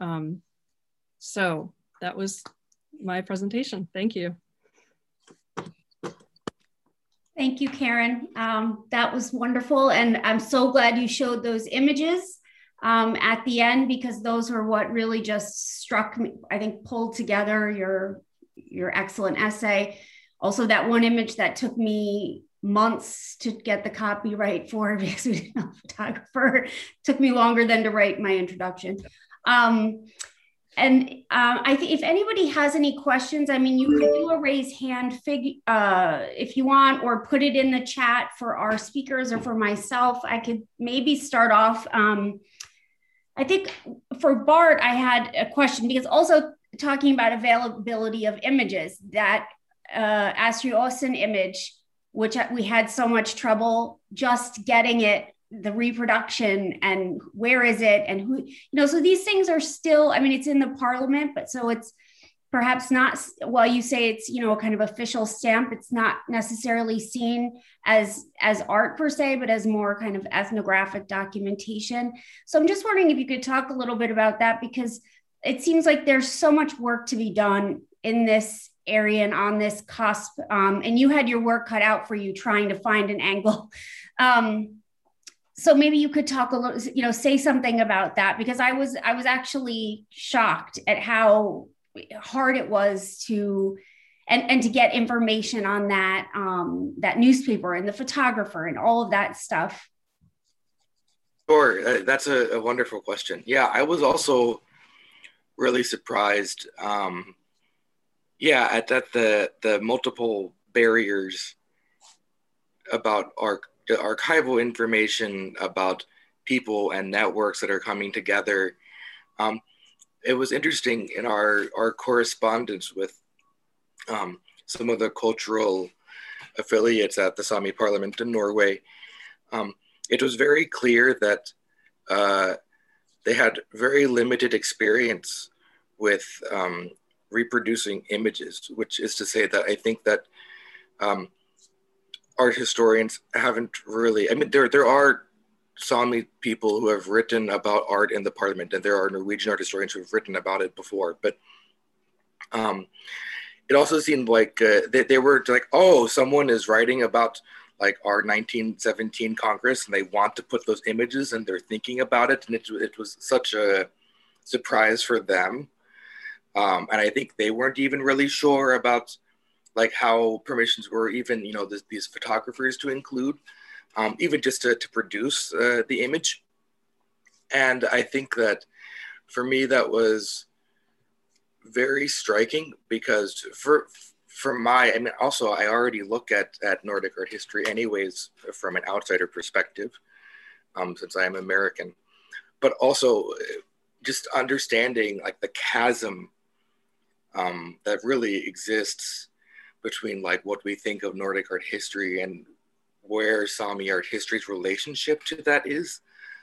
So that was my presentation. Thank you. Thank you, Karen. That was wonderful. And I'm so glad you showed those images at the end, because those are what really just struck me, I think, pulled together your excellent essay. Also, that one image that took me months to get the copyright for, because we didn't have a photographer, took me longer than to write my introduction. I think if anybody has any questions, I mean, you could do a raise hand if you want, or put it in the chat for our speakers or for myself. I could maybe start off. I think for Bart, I had a question, because also talking about availability of images, that Astrid Aasen image, which we had so much trouble just getting it, the reproduction, and where is it, and who, so these things are still, I mean, it's in the parliament, but so it's perhaps not, while you say it's, a kind of official stamp, it's not necessarily seen as art per se, but as more kind of ethnographic documentation. So I'm just wondering if you could talk a little bit about that, because it seems like there's so much work to be done in this Arian, on this cusp, and you had your work cut out for you trying to find an angle. So maybe you could talk a little, say something about that, because I was actually shocked at how hard it was to get information on that newspaper and the photographer and all of that stuff. Sure, that's a wonderful question. Yeah, I was also really surprised. At the multiple barriers about archival information about people and networks that are coming together. It was interesting in our correspondence with some of the cultural affiliates at the Sami Parliament in Norway. It was very clear that they had very limited experience with reproducing images, which is to say that I think that art historians haven't really, there are Sami people who have written about art in the parliament, and there are Norwegian art historians who have written about it before, but it also seemed like they were like, oh, someone is writing about like our 1917 Congress and they want to put those images and they're thinking about it, and it was such a surprise for them. And I think they weren't even really sure about like how permissions were even, these photographers to include, even just to produce the image. And I think that for me, that was very striking because also I already look at Nordic art history anyways from an outsider perspective, since I am American, but also just understanding like the chasm that really exists between like what we think of Nordic art history and where Sami art history's relationship to that is,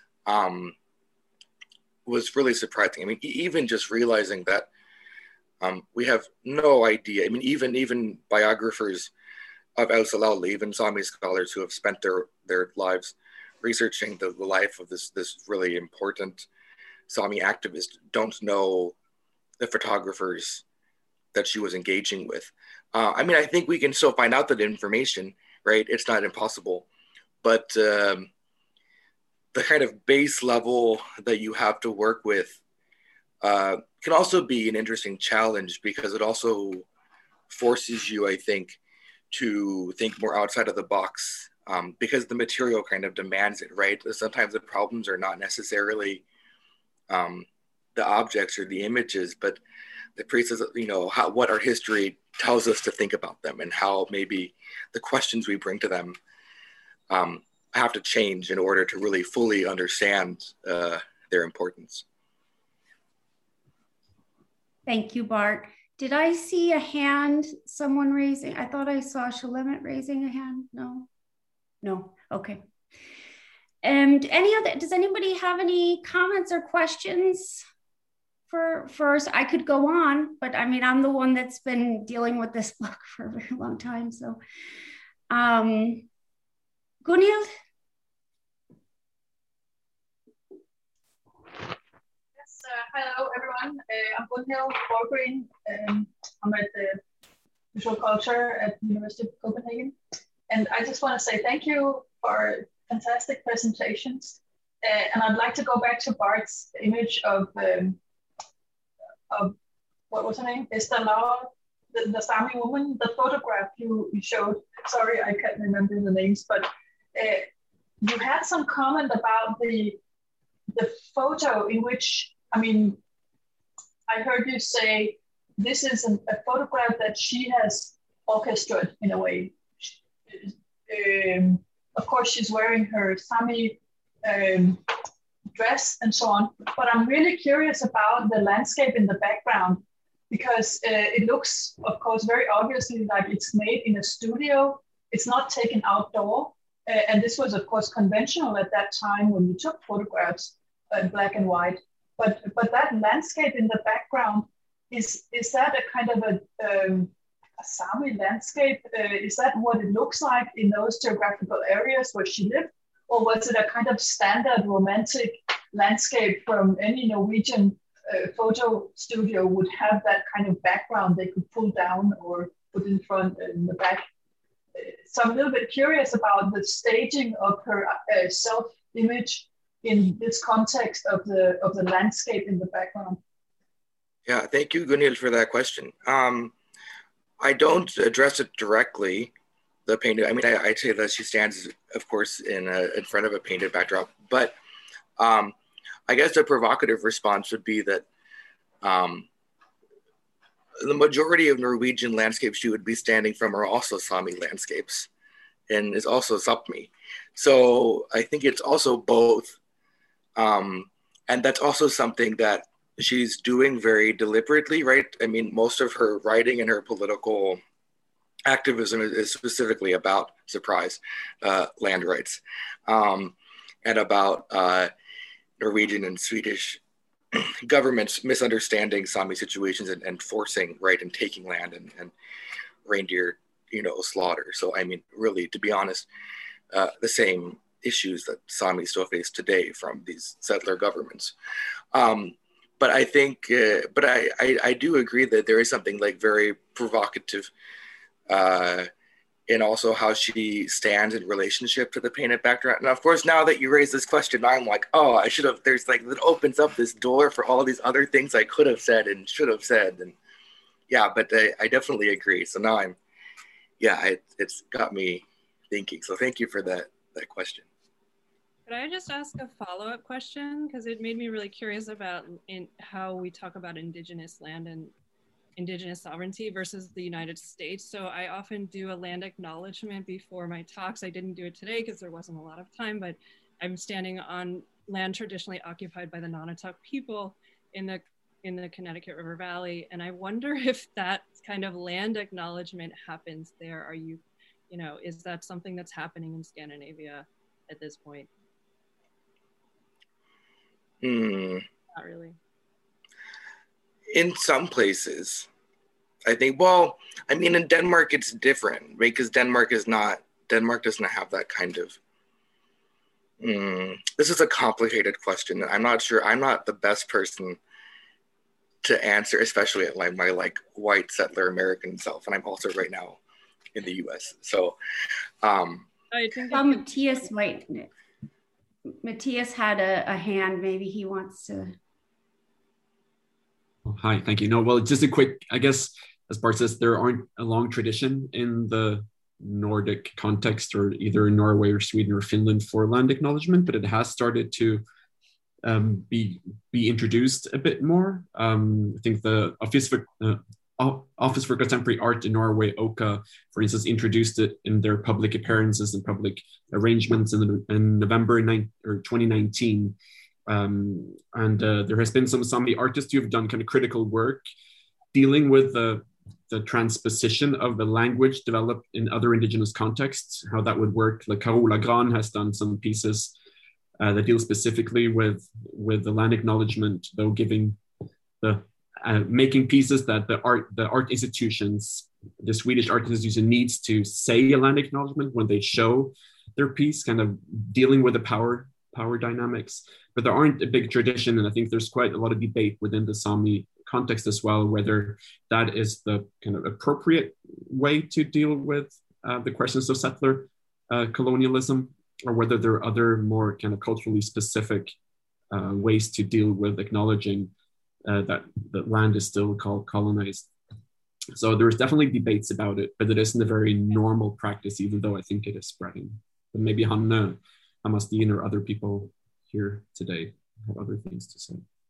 was really surprising. Even just realizing that we have no idea. Even biographers of Elsa Laula, even Sami scholars who have spent their lives researching the life of this really important Sami activist, don't know the photographers that she was engaging with. I think we can still find out that information, right? It's not impossible, but the kind of base level that you have to work with can also be an interesting challenge because it also forces you, I think, to think more outside of the box because the material kind of demands it, right? Sometimes the problems are not necessarily the objects or the images, but the pieces, what our history tells us to think about them and how maybe the questions we bring to them have to change in order to really fully understand their importance. Thank you, Bart. Did I see a hand, someone raising? I thought I saw Shalimit raising a hand. No. Okay. And does anybody have any comments or questions for us? I could go on, but I'm the one that's been dealing with this book for a very long time. So, Gunhild? Hello, everyone. I'm Gunhild Borgren. I'm at the Visual Culture at the University of Copenhagen. And I just want to say thank you for fantastic presentations. And I'd like to go back to Bart's image of what was her name? Esther Laura, the Sami woman, the photograph you showed. Sorry, I can't remember the names, but you had some comment about the photo in which, I heard you say this is a photograph that she has orchestrated in a way. Of course, she's wearing her Sami dress and so on, but I'm really curious about the landscape in the background because it looks, of course, very obviously like it's made in a studio. It's not taken outdoor. And this was, of course, conventional at that time when you took photographs in black and white. But that landscape in the background, is that a kind of a Sami landscape? Is that what it looks like in those geographical areas where she lived? Or was it a kind of standard romantic landscape from any Norwegian photo studio would have that kind of background they could pull down or put in front and in the back. So I'm a little bit curious about the staging of her self-image in this context of the landscape in the background. Yeah, thank you, Gunhild, for that question. I don't address it directly, the painted. I mean, I'd say that she stands, of course, in front of a painted backdrop. But I guess the provocative response would be that the majority of Norwegian landscapes she would be standing from are also Sami landscapes, and is also Sapmi. So I think it's also both, and that's also something that she's doing very deliberately, right? I mean, most of her writing and her political activism is specifically about, surprise, land rights, and about Norwegian and Swedish governments misunderstanding Sami situations and forcing, right, and taking land and reindeer, slaughter. So, I mean, really, to be honest, the same issues that Sami still face today from these settler governments. But I think, I do agree that there is something like very provocative in also how she stands in relationship to the painted background. And of course, now that you raise this question, I'm like, oh, I should have, there's like, it opens up this door for all these other things I could have said and should have said. And yeah, but I definitely agree. So now it's got me thinking. So thank you for that question. Could I just ask a follow-up question? Because it made me really curious about how we talk about indigenous land and indigenous sovereignty versus the United States. So I often do a land acknowledgement before my talks. I didn't do it today because there wasn't a lot of time, but I'm standing on land traditionally occupied by the Nonotuck people in the Connecticut River Valley. And I wonder if that kind of land acknowledgement happens there. Are you, is that something that's happening in Scandinavia at this point? Not really. In some places, I think, well, I mean, in Denmark, it's different, right? Because Denmark doesn't have that kind of, this is a complicated question. I'm not sure, I'm not the best person to answer, especially at like my white settler American self. And I'm also right now in the US. So, I think Matthias had a hand, maybe he wants to. Hi, thank you. No, well, just a quick, I guess, as Bart says, there aren't a long tradition in the Nordic context, or either in Norway or Sweden or Finland, for land acknowledgement, but it has started to be introduced a bit more. I think the Office for Contemporary Art in Norway, OCA, for instance, introduced it in their public appearances and public arrangements in November 2019. And there has been some Sami artists who have done kind of critical work dealing with the transposition of the language developed in other indigenous contexts, how that would work. Like Carola Gran has done some pieces that deal specifically with the land acknowledgement, though giving making pieces that the art institutions, the Swedish art institution needs to say a land acknowledgement when they show their piece, kind of dealing with the power dynamics. But there aren't a big tradition, and I think there's quite a lot of debate within the Sami context as well, whether that is the kind of appropriate way to deal with the questions of settler colonialism, or whether there are other more kind of culturally specific ways to deal with acknowledging that land is still colonized. So there's definitely debates about it, but it isn't a very normal practice, even though I think it is spreading. But maybe Hanne Hammarsten or other people here today have other things to say.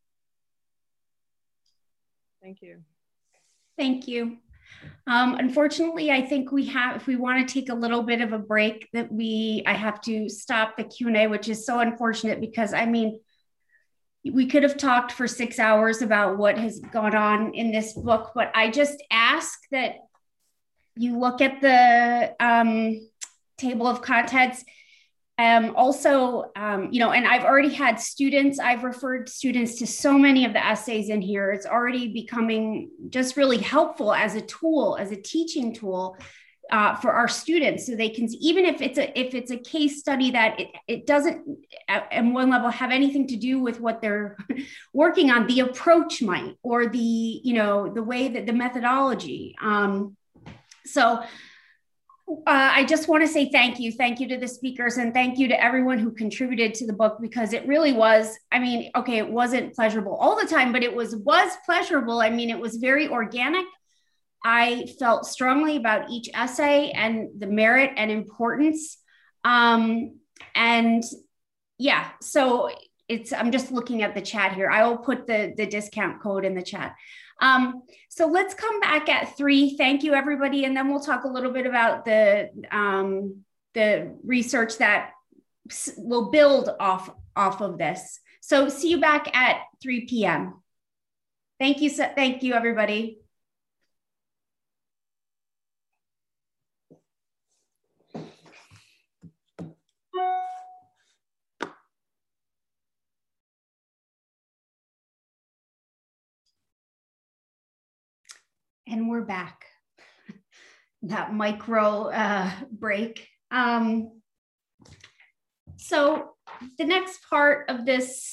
Thank you. Thank you. Unfortunately, I think if we want to take a little bit of a break, I have to stop the Q&A, which is so unfortunate because, I mean, we could have talked for 6 hours about what has gone on in this book, but I just ask that you look at the table of contents. Also, and I've already had students, I've referred students to so many of the essays in here. It's already becoming just really helpful as a tool, as a teaching tool. for our students, so they can, even if it's a case study that it doesn't at one level have anything to do with what they're working on, the approach might, or the way that the methodology. So I just want to say thank you to the speakers, and thank you to everyone who contributed to the book, because it really was, I mean, okay, it wasn't pleasurable all the time, but it was pleasurable. I mean, it was very organic. I felt strongly about each essay and the merit and importance. And yeah, so I'm just looking at the chat here. I will put the discount code in the chat. So let's come back at 3. Thank you, everybody. And then we'll talk a little bit about the research that will build off of this. So see you back at 3 p.m. Thank you, everybody. And we're back. That micro break. So the next part of this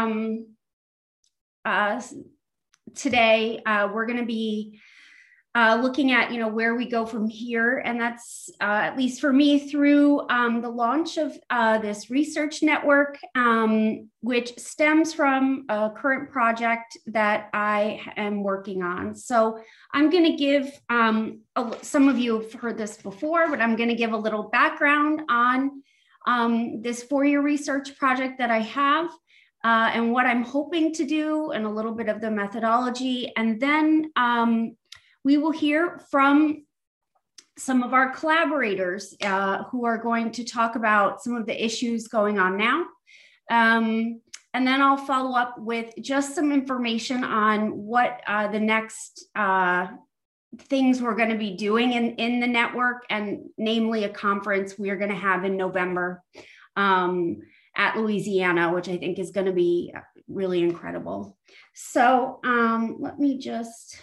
today, we're going to be looking at where we go from here, and that's at least for me through the launch of this research network, which stems from a current project that I am working on. So I'm going to give some of you have heard this before, but I'm going to give a little background on this 4-year research project that I have. And what I'm hoping to do, and a little bit of the methodology, and then we will hear from some of our collaborators who are going to talk about some of the issues going on now. And then I'll follow up with just some information on what the next things we're going to be doing in the network, and namely a conference we are going to have in November at Louisiana, which I think is going to be really incredible. So let me just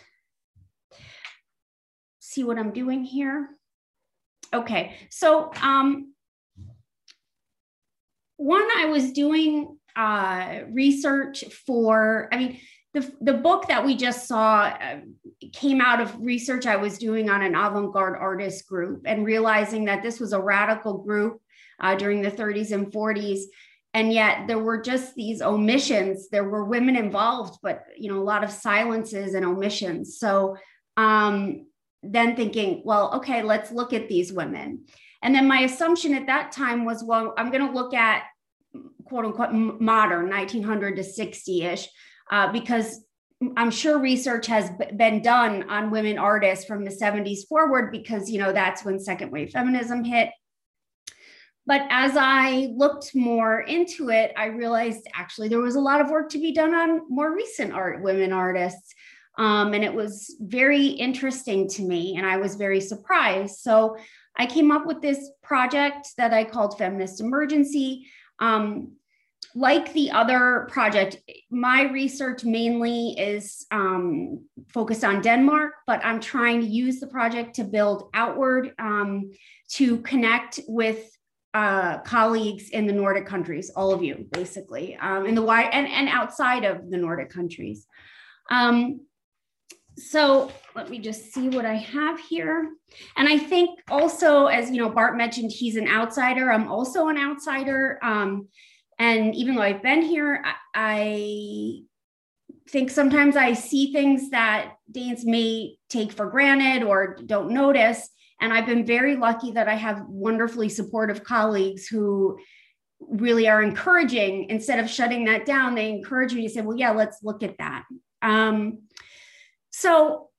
see what I'm doing here. Okay, so one, I was doing research for, the book that we just saw came out of research I was doing on an avant-garde artist group, and realizing that this was a radical group during the 30s and 40s. And yet there were just these omissions. There were women involved, but a lot of silences and omissions. So then thinking, well, okay, let's look at these women. And then my assumption at that time was, well, I'm going to look at quote unquote modern 1900 to 60-ish, because I'm sure research has been done on women artists from the 70s forward, because, that's when second wave feminism hit. But as I looked more into it, I realized actually there was a lot of work to be done on more recent women artists. And it was very interesting to me, and I was very surprised. So I came up with this project that I called Feminist Emergency. Like the other project, my research mainly is focused on Denmark, but I'm trying to use the project to build outward, to connect with colleagues in the Nordic countries, all of you, basically, in the wide and outside of the Nordic countries. So let me just see what I have here. And I think also, as Bart mentioned, he's an outsider. I'm also an outsider. And even though I've been here, I think sometimes I see things that Danes may take for granted or don't notice. And I've been very lucky that I have wonderfully supportive colleagues who really are encouraging. Instead of shutting that down, they encourage me to say, well, yeah, let's look at that. So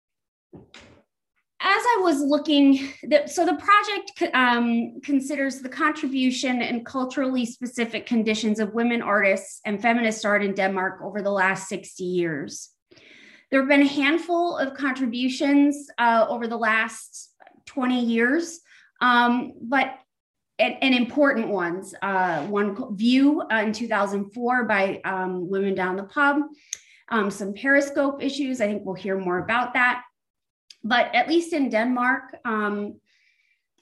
as I was looking, so the project considers the contribution and culturally specific conditions of women artists and feminist art in Denmark over the last 60 years. There have been a handful of contributions over the last 20 years, but and important ones. One View in 2004 by Women Down the Pub. Some Periscope issues. I think we'll hear more about that. But at least in Denmark,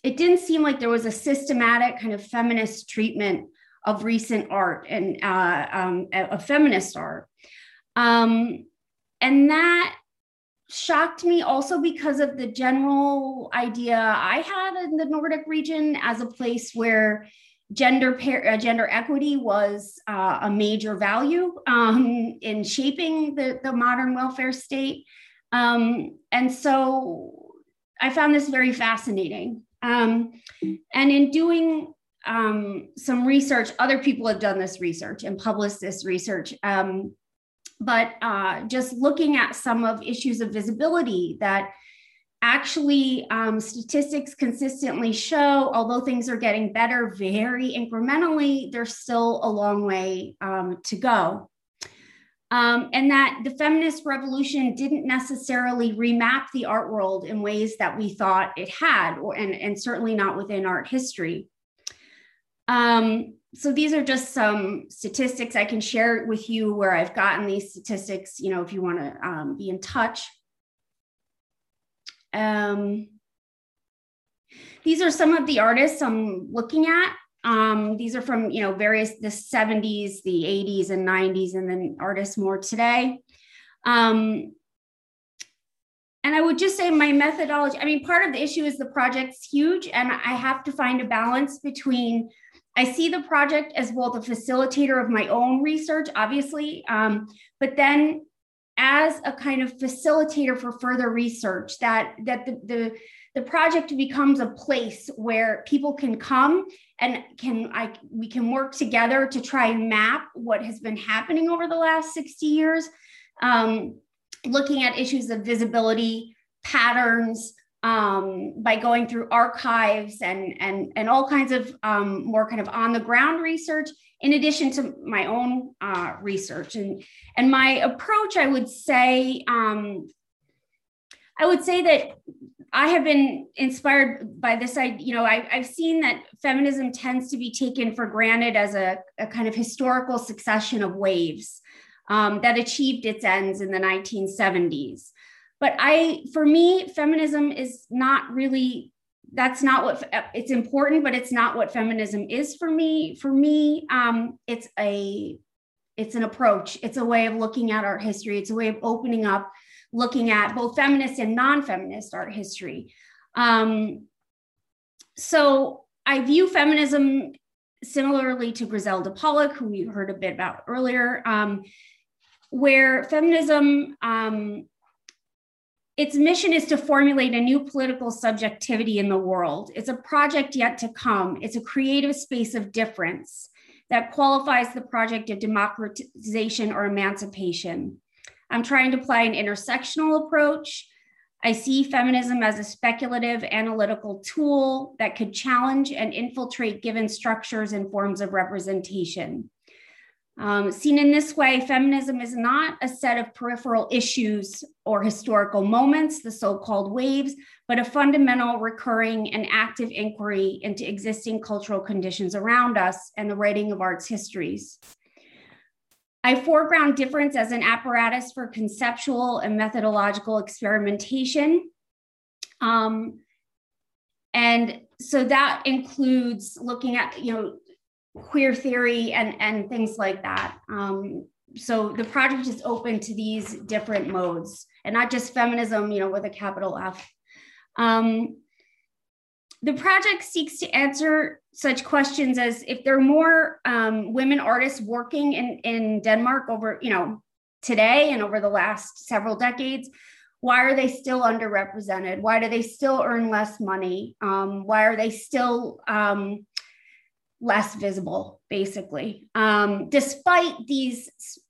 it didn't seem like there was a systematic kind of feminist treatment of recent art and of feminist art. And that shocked me also because of the general idea I had in the Nordic region as a place where gender equity was a major value in shaping the modern welfare state. And so I found this very fascinating. And in doing some research, other people have done this research and published this research. But just looking at some of issues of visibility that actually statistics consistently show, although things are getting better very incrementally, there's still a long way to go. And that the feminist revolution didn't necessarily remap the art world in ways that we thought it had, and certainly not within art history. So these are just some statistics I can share with you where I've gotten these statistics, you know, if you want to be in touch. These are some of the artists I'm looking at. These are from, you know, various, the 70s, the 80s and 90s, and then artists more today. And I would just say my methodology, I mean, part of the issue is the project's huge, and I have to find a balance between, I see the project as both a facilitator of my own research, obviously, but then as a kind of facilitator for further research, that the project becomes a place where people can come and we can work together to try and map what has been happening over the last 60 years, looking at issues of visibility, patterns, by going through archives and all kinds of more kind of on the ground research, in addition to my own research. And my approach, I would say that I have been inspired by this. I've seen that feminism tends to be taken for granted as a kind of historical succession of waves that achieved its ends in the 1970s. But for me, feminism is not really, that's not what, it's important, but it's not what feminism is for me. For me, it's an approach. It's a way of looking at art history. It's a way of opening up, looking at both feminist and non-feminist art history. So I view feminism similarly to Griselda Pollock, who we heard a bit about earlier, where feminism, its mission is to formulate a new political subjectivity in the world. It's a project yet to come. It's a creative space of difference that qualifies the project of democratization or emancipation. I'm trying to apply an intersectional approach. I see feminism as a speculative analytical tool that could challenge and infiltrate given structures and forms of representation. Seen in this way, feminism is not a set of peripheral issues or historical moments, the so-called waves, but a fundamental, recurring, and active inquiry into existing cultural conditions around us and the writing of art's histories. I foreground difference as an apparatus for conceptual and methodological experimentation. And so that includes looking at, queer theory and things like that. So the project is open to these different modes and not just feminism, with a capital F. The project seeks to answer such questions as if there are more women artists working in Denmark over, today and over the last several decades, why are they still underrepresented? Why do they still earn less money? Why are they still less visible, basically? Despite these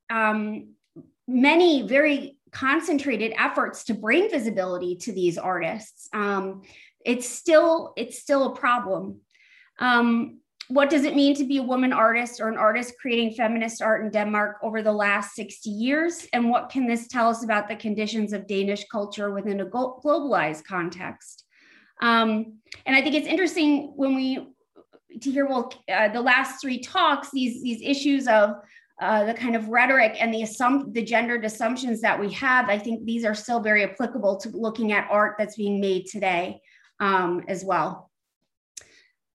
many very concentrated efforts to bring visibility to these artists, it's still a problem. What does it mean to be a woman artist or an artist creating feminist art in Denmark over the last 60 years? And what can this tell us about the conditions of Danish culture within a globalized context? And I think it's interesting to hear, the last three talks, these issues of the kind of rhetoric and the gendered assumptions that we have. I think these are still very applicable to looking at art that's being made today as well.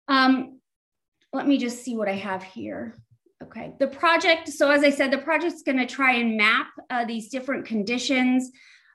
Let me just see what I have here. Okay, the project, so as I said, the project's going to try and map these different conditions.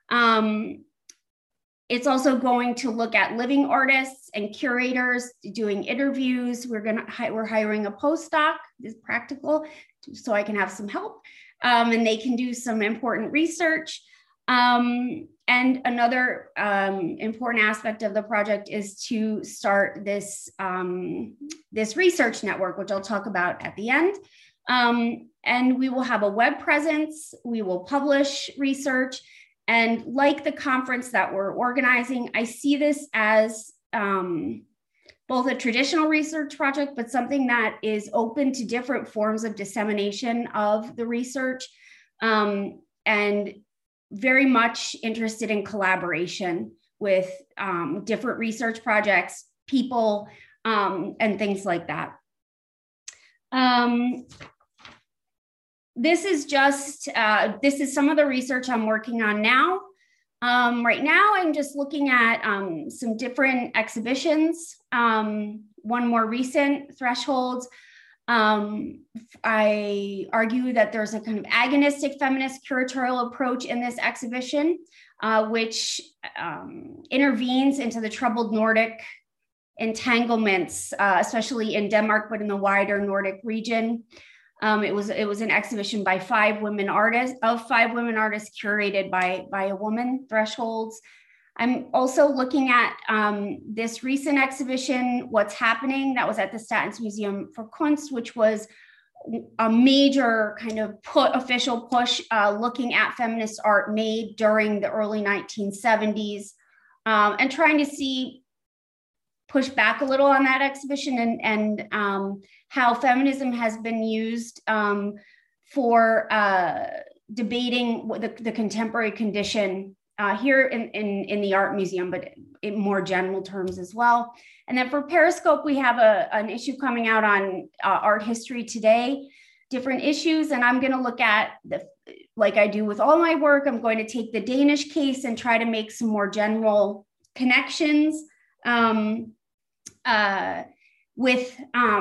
It's also going to look at living artists and curators doing interviews. We're hiring a postdoc, is practical, so I can have some help, and they can do some important research. And another important aspect of the project is to start this, this research network, which I'll talk about at the end. And we will have a web presence, we will publish research, and like the conference that we're organizing, I see this as both a traditional research project, but something that is open to different forms of dissemination of the research, and very much interested in collaboration with different research projects, people, and things like that. This is just, this is some of the research I'm working on now. Right now, I'm just looking at some different exhibitions. One more recent, Thresholds. I argue that there's a kind of agonistic feminist curatorial approach in this exhibition, which intervenes into the troubled Nordic entanglements, especially in Denmark, but in the wider Nordic region. It was an exhibition by 5 women artists, curated by a woman, Thresholds. I'm also looking at this recent exhibition, What's Happening, that was at the Statens Museum for Kunst, which was a major kind of official push looking at feminist art made during the early 1970s, and trying to push back a little on that exhibition and how feminism has been used for debating the contemporary condition here in the Art Museum, but in more general terms as well. And then for Periscope, we have an issue coming out on art history today, different issues. And I'm going to look at, like I do with all my work, I'm going to take the Danish case and try to make some more general connections with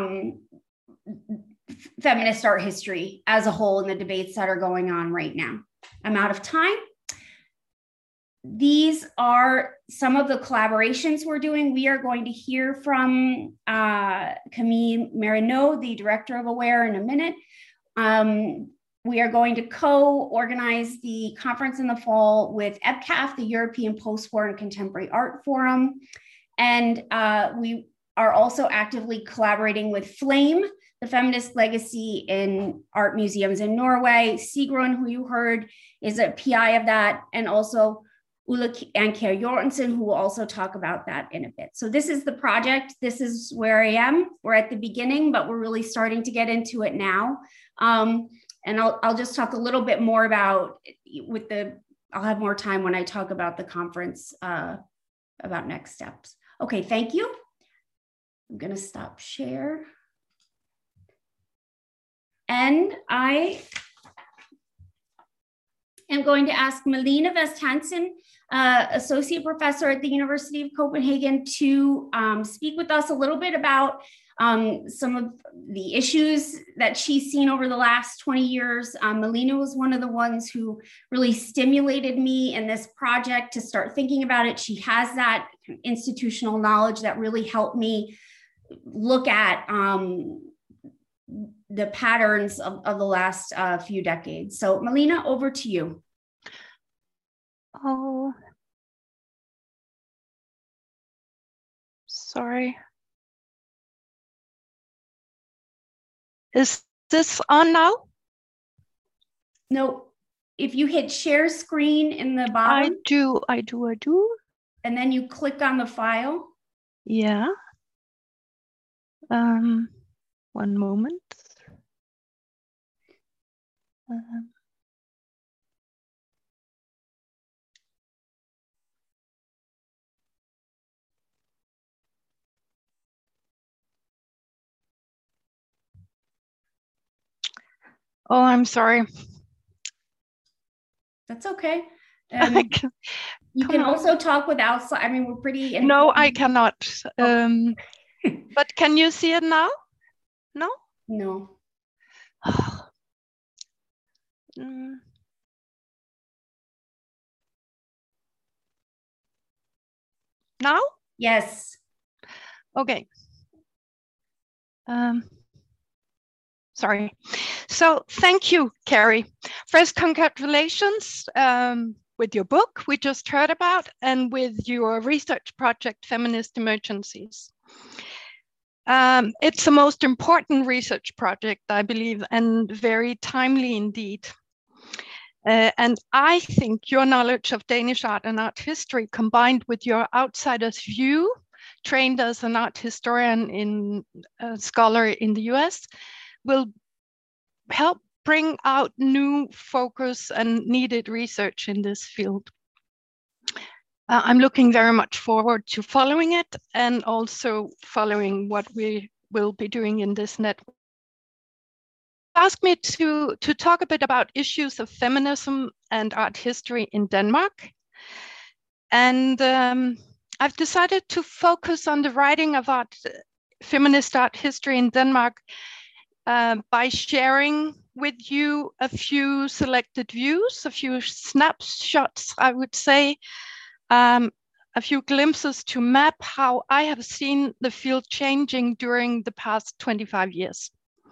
feminist art history as a whole in the debates that are going on right now. I'm out of time. These are some of the collaborations we're doing. We are going to hear from Camille Marino, the director of AWARE, in a minute. We are going to co-organize the conference in the fall with EBCAF, the European Post-War and Contemporary Art Forum. And we are also actively collaborating with Flame, the Feminist Legacy in Art Museums in Norway. Sigrun, who you heard, is a PI of that, and also Ulla Anker Jorgensen, who will also talk about that in a bit. So this is the project. This is where I am. We're at the beginning, but we're really starting to get into it now. And I'll just talk a little bit more about I'll have more time when I talk about the conference, about next steps. Okay, thank you. I'm gonna stop share. And I am going to ask Malene Vest Hansen, Associate Professor at the University of Copenhagen, to speak with us a little bit about some of the issues that she's seen over the last 20 years. Malene was one of the ones who really stimulated me in this project to start thinking about it. She has that institutional knowledge that really helped me look at the patterns of the last few decades. So Malene, over to you. Oh, sorry. Is this on now? No, if you hit share screen in the bottom. I do. And then you click on the file. Yeah. One moment. Oh, I'm sorry. That's okay. You can also talk without, I mean, we're pretty. No, I cannot. But can you see it now? No? No. Now? Yes. Okay. Sorry. So thank you, Carrie. First, congratulations with your book we just heard about and with your research project, Feminist Emergencies. It's the most important research project, I believe, and very timely indeed. And I think your knowledge of Danish art and art history, combined with your outsider's view, trained as an art historian in a scholar in the US, will help bring out new focus and needed research in this field. I'm looking very much forward to following it and also following what we will be doing in this network. Asked me to talk a bit about issues of feminism and art history in Denmark. And I've decided to focus on the writing of feminist art history in Denmark by sharing with you a few selected views, a few snapshots, I would say, a few glimpses to map how I have seen the field changing during the past 25 years.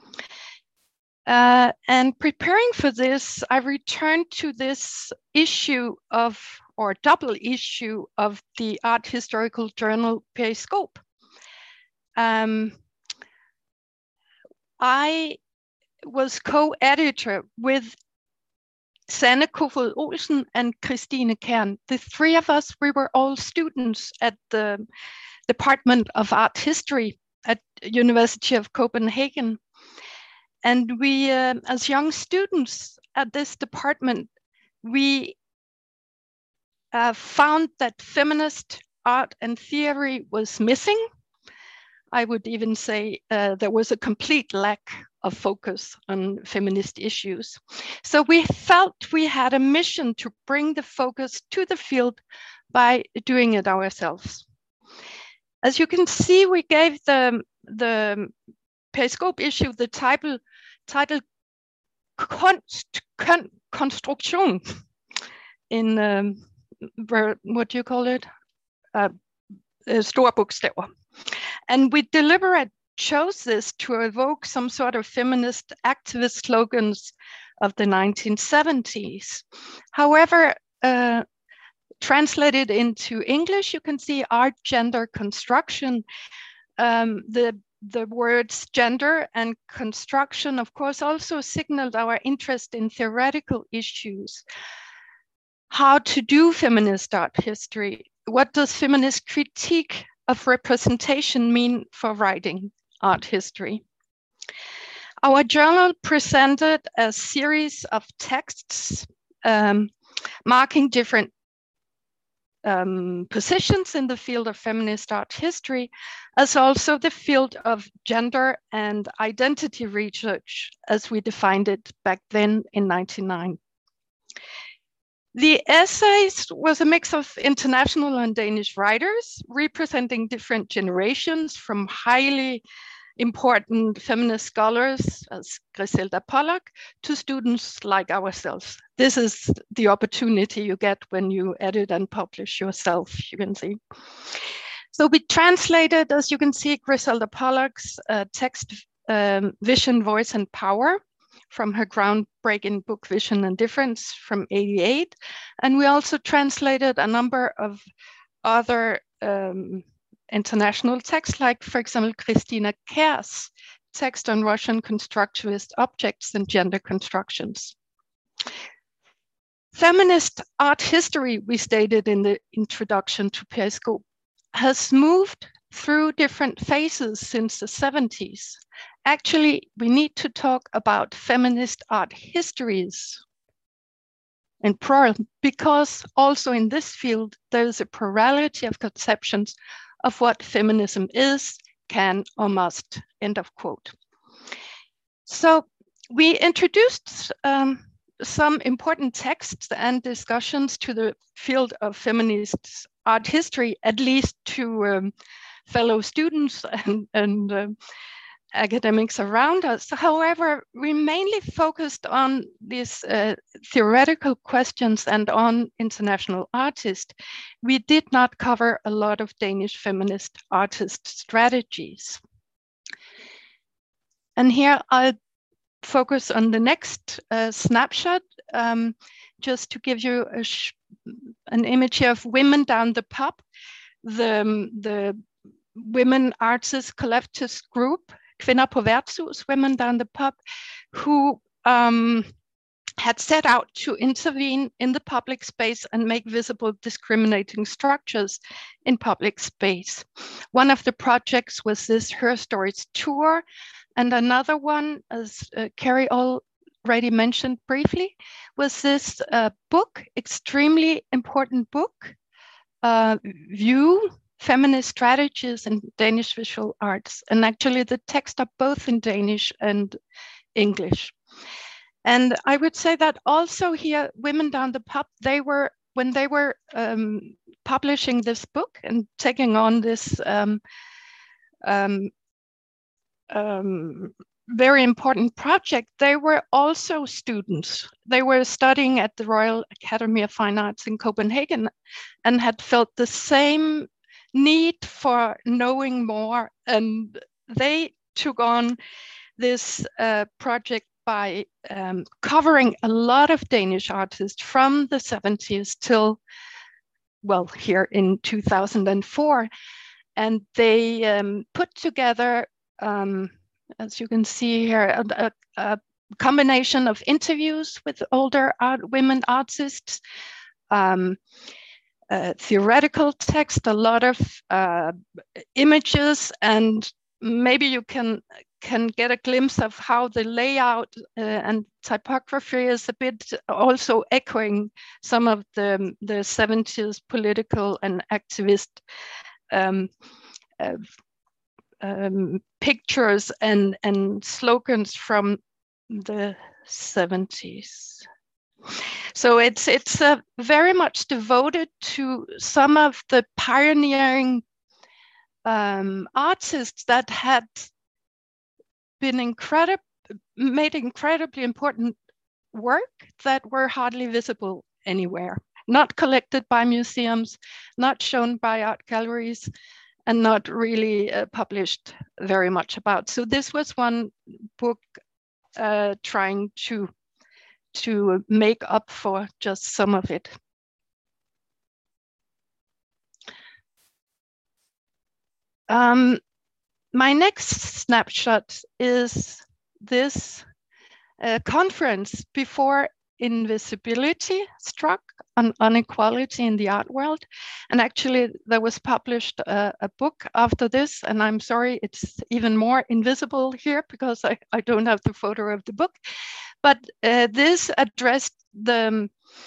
And preparing for this, I returned to this issue of, or double issue of the art historical journal Periskop. I was co-editor with Sanne Kofod Olsen and Christine Kern. The three of us, we were all students at the Department of Art History at University of Copenhagen. And we, as young students at this department, we found that feminist art and theory was missing. I would even say there was a complete lack of focus on feminist issues. So we felt we had a mission to bring the focus to the field by doing it ourselves. As you can see, we gave the Periskop issue the title Konstruktion in what do you call it? Store bogstaver. And we deliberately chose this to evoke some sort of feminist activist slogans of the 1970s. However, translated into English, you can see art, gender, construction. The words gender and construction, of course, also signaled our interest in theoretical issues. How to do feminist art history? What does feminist critique of representation mean for writing art history? Our journal presented a series of texts marking different positions in the field of feminist art history, as also the field of gender and identity research, as we defined it back then in 1999. The essays was a mix of international and Danish writers representing different generations, from highly important feminist scholars as Griselda Pollock to students like ourselves. This is the opportunity you get when you edit and publish yourself, you can see. So we translated, as you can see, Griselda Pollock's text, Vision, Voice and Power, from her groundbreaking book Vision and Difference from '88. And we also translated a number of other international texts, like, for example, Christina Kern's text on Russian constructivist objects and gender constructions. Feminist art history, we stated in the introduction to Periskop, has moved through different phases since the 70s. Actually, we need to talk about feminist art histories in plural, because also in this field, there is a plurality of conceptions of what feminism is, can, or must, end of quote. So we introduced some important texts and discussions to the field of feminist art history, at least to fellow students and academics around us. However, we mainly focused on these theoretical questions and on international artists. We did not cover a lot of Danish feminist artist strategies. And here I'll focus on the next snapshot, just to give you an image here of Women Down the Pub, the women artists collectivist group, Kvinder på Værtshus, Women Down the Pub, who had set out to intervene in the public space and make visible discriminating structures in public space. One of the projects was this Her Stories tour, and another one, as Carrie already mentioned briefly, was this book, extremely important book, View, Feminist Strategies in Danish Visual Arts. And actually the texts are both in Danish and English. And I would say that also here, Women Down the Pub, when they were publishing this book and taking on this very important project, they were also students. They were studying at the Royal Academy of Fine Arts in Copenhagen and had felt the same need for knowing more. And they took on this project by covering a lot of Danish artists from the 70s till, well, here in 2004. And they put together, as you can see here, a combination of interviews with older women artists, theoretical text, a lot of images, and maybe you can get a glimpse of how the layout and typography is a bit also echoing some of the 70s political and activist pictures and slogans from the 70s. So it's very much devoted to some of the pioneering artists that had been made incredibly important work that were hardly visible anywhere, not collected by museums, not shown by art galleries, and not really published very much about. So this was one book trying to make up for just some of it. My next snapshot is this conference before invisibility struck on inequality in the art world. And actually there was published a book after this, and I'm sorry it's even more invisible here because I don't have the photo of the book. But this addressed the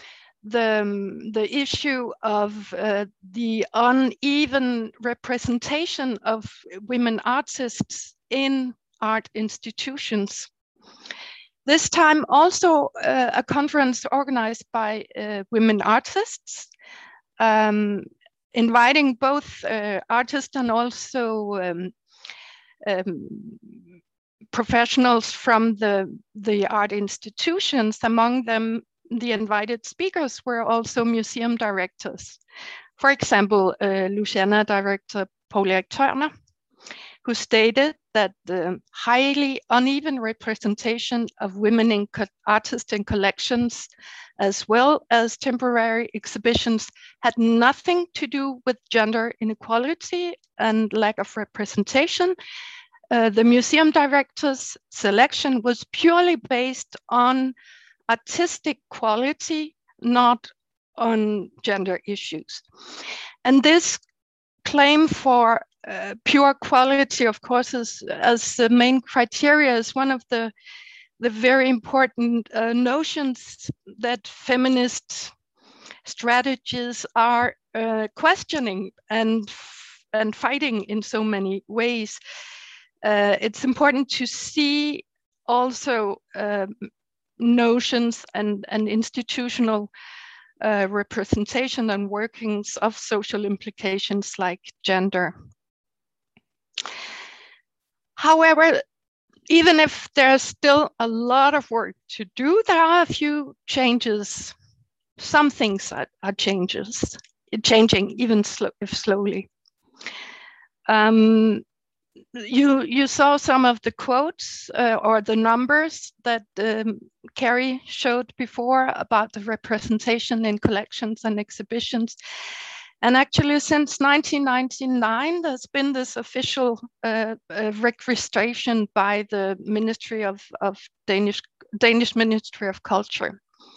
issue of the uneven representation of women artists in art institutions. This time also a conference organized by women artists, inviting both artists and also professionals from the art institutions. Among them, the invited speakers were also museum directors. For example, Louisiana director Poul Erik Tørner, who stated that the highly uneven representation of women artists in collections, as well as temporary exhibitions, had nothing to do with gender inequality and lack of representation. The museum director's selection was purely based on artistic quality, not on gender issues. And this claim for pure quality, of course, as the main criteria, is one of the very important notions that feminist strategies are questioning and fighting in so many ways. It's important to see also notions and institutional representation and workings of social implications like gender. However, even if there's still a lot of work to do, there are a few changes. Some things are changing, even if slowly. You saw some of the quotes or the numbers that Carrie showed before about the representation in collections and exhibitions. And actually, since 1999, there's been this official registration by the Ministry of Danish Ministry of Culture.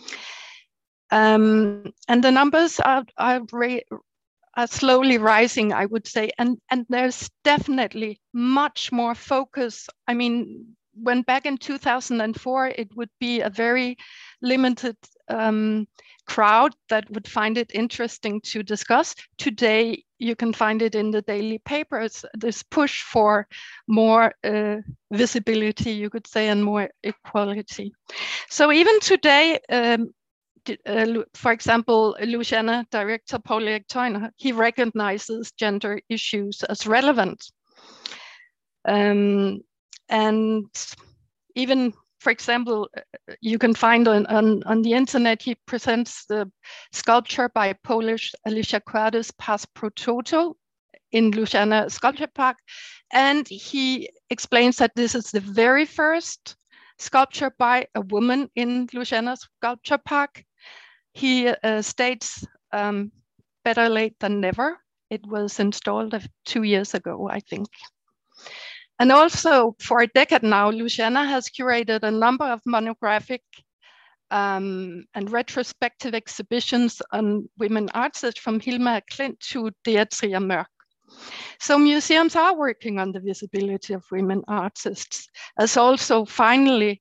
And the numbers are slowly rising, I would say, and there's definitely much more focus. I mean, when back in 2004, it would be a very limited crowd that would find it interesting to discuss. Today, you can find it in the daily papers, this push for more visibility, you could say, and more equality. So even today, for example, Louisiana director Paul-Erik Theuner, he recognizes gender issues as relevant. And even, for example, you can find on the internet, he presents the sculpture by Polish Alicia Quadis, Pas Pro Toto, in Louisiana Sculpture Park. And he explains that this is the very first sculpture by a woman in Louisiana Sculpture Park. He states, better late than never. It was installed 2 years ago, I think. And also for a decade now, Louisiana has curated a number of monographic and retrospective exhibitions on women artists, from Hilma Klint to Dea Mørk. So museums are working on the visibility of women artists, as also finally,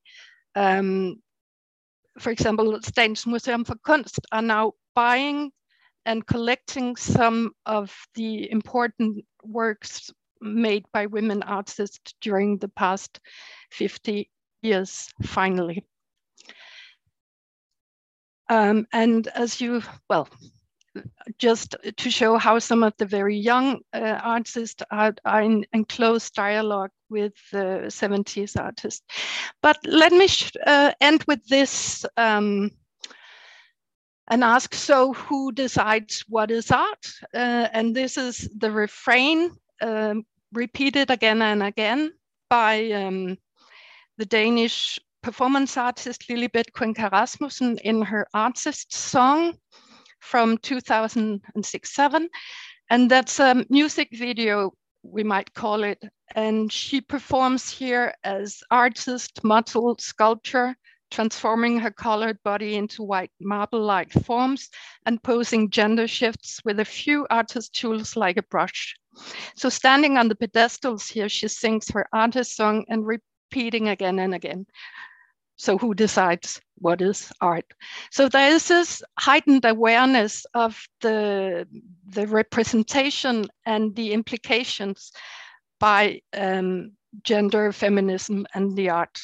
for example, Statens Museum for Kunst are now buying and collecting some of the important works made by women artists during the past 50 years, finally. And as you, well, just to show how some of the very young artists are in close dialogue with the 70s artists. But let me end with this and ask, so who decides what is art? And this is the refrain repeated again and again by the Danish performance artist Lilibet Cuenca Rasmussen in her Artist song from 2006-07. And that's a music video, we might call it. And she performs here as artist, model, sculptor, transforming her colored body into white marble-like forms and posing gender shifts with a few artist tools like a brush. So standing on the pedestals here, she sings her artist song and repeating again and again. So who decides what is art? So there is this heightened awareness of the representation and the implications by gender, feminism, and the art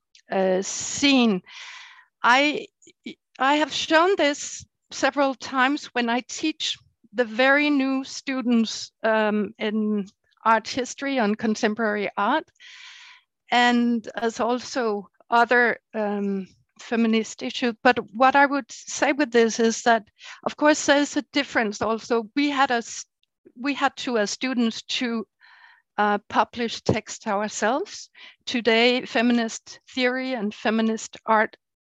scene. I have shown this several times when I teach the very new students in art history on contemporary art, and as also other feminist issues. But what I would say with this is that, of course, there's a difference also. We had to, as students, to publish text ourselves. Today, feminist theory and feminist art,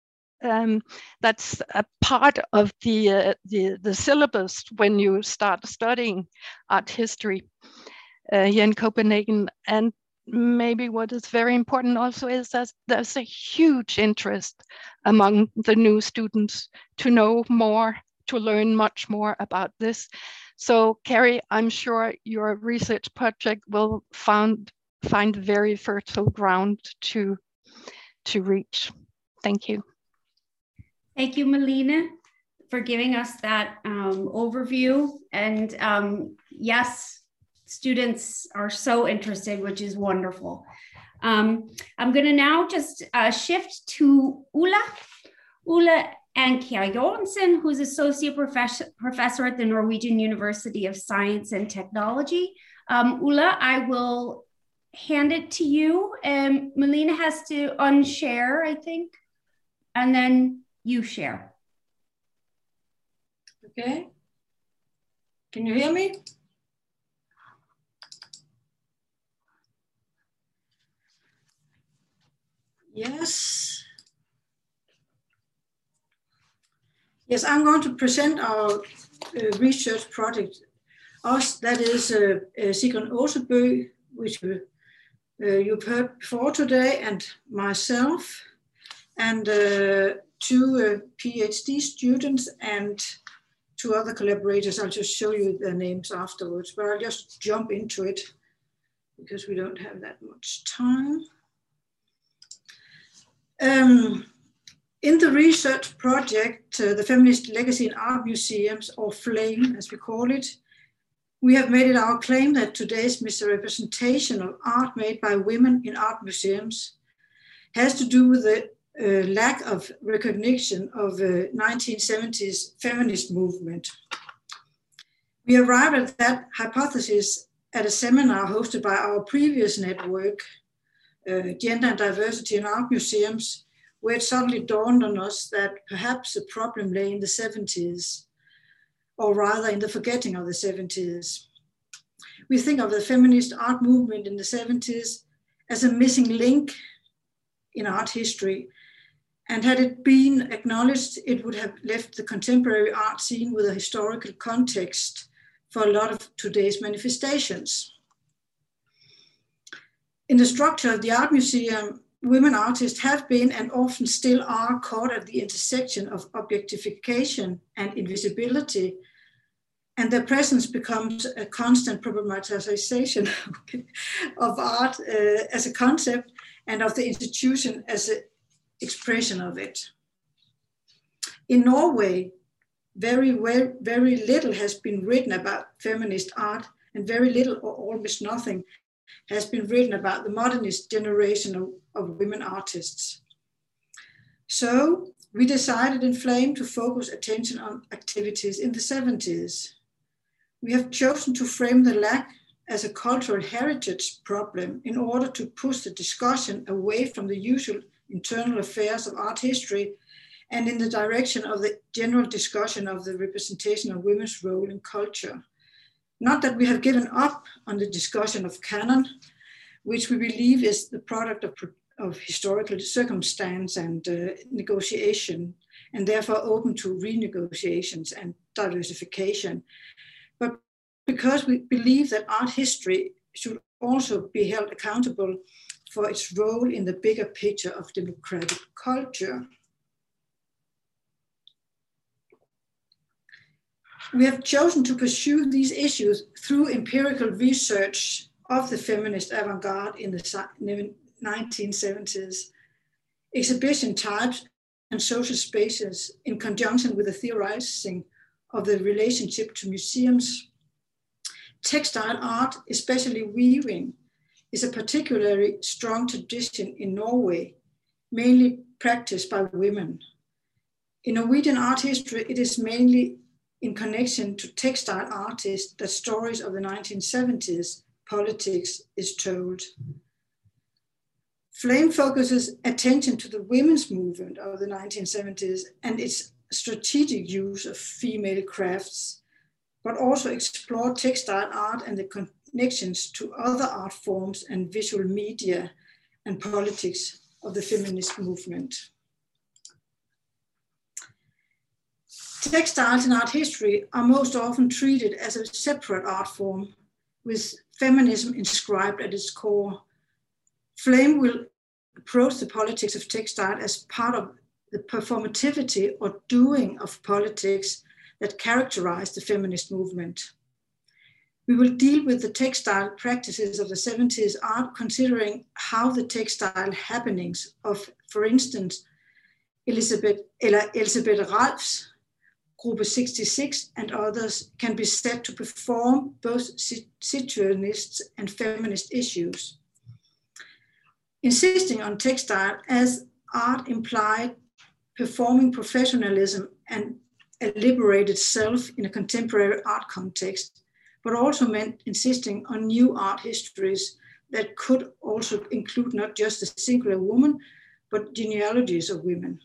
that's a part of the syllabus when you start studying art history here in Copenhagen. And maybe what is very important also is that there's a huge interest among the new students to know more, to learn much more about this. So Carrie, I'm sure your research project will find very fertile ground to reach. Thank you. Thank you, Malene, for giving us that overview. And yes, students are so interested, which is wonderful. I'm going to now just shift to Ulla Ankjær Johansen, who's associate professor at the Norwegian University of Science and Technology. Ulla, I will hand it to you. Melina has to unshare, I think, and then you share. Okay. Can you hear me? Yes. Yes, I'm going to present our research project. Us, that is Sigrun Åsebø, which you've heard before today, and myself, and two PhD students and two other collaborators. I'll just show you their names afterwards, but I'll just jump into it because we don't have that much time. In the research project, the Feminist Legacy in Art Museums, or FLAME as we call it, we have made it our claim that today's misrepresentation of art made by women in art museums has to do with the lack of recognition of the 1970s feminist movement. We arrived at that hypothesis at a seminar hosted by our previous network, Gender and Diversity in Art Museums, where it suddenly dawned on us that perhaps the problem lay in the 70s, or rather in the forgetting of the 70s. We think of the feminist art movement in the 70s as a missing link in art history, and had it been acknowledged, it would have left the contemporary art scene with a historical context for a lot of today's manifestations. In the structure of the art museum, women artists have been and often still are caught at the intersection of objectification and invisibility, and their presence becomes a constant problematization of art as a concept and of the institution as an expression of it. In Norway, very little has been written about feminist art, and very little or almost nothing has been written about the modernist generation of women artists. So we decided in FLAME to focus attention on activities in the 70s. We have chosen to frame the lack as a cultural heritage problem in order to push the discussion away from the usual internal affairs of art history and in the direction of the general discussion of the representation of women's role in culture. Not that we have given up on the discussion of canon, which we believe is the product of historical circumstance and negotiation, and therefore open to renegotiations and diversification. But because we believe that art history should also be held accountable for its role in the bigger picture of democratic culture. We have chosen to pursue these issues through empirical research of the feminist avant-garde in the 1970s, exhibition types and social spaces in conjunction with the theorizing of the relationship to museums. Textile art, especially weaving, is a particularly strong tradition in Norway, mainly practiced by women. In Norwegian art history, it is mainly in connection to textile artists that stories of the 1970s politics is told. FLAME focuses attention to the women's movement of the 1970s and its strategic use of female crafts, but also explore textile art and the connections to other art forms and visual media and politics of the feminist movement. Textiles in art history are most often treated as a separate art form with feminism inscribed at its core. FLAME will approach the politics of textile as part of the performativity or doing of politics that characterize the feminist movement. We will deal with the textile practices of the 70s art, considering how the textile happenings of, for instance, Elisabeth Ralphs, Gruppe 66 and others can be said to perform both situationist and feminist issues. Insisting on textile as art implied performing professionalism and a liberated self in a contemporary art context, but also meant insisting on new art histories that could also include not just a singular woman, but genealogies of women.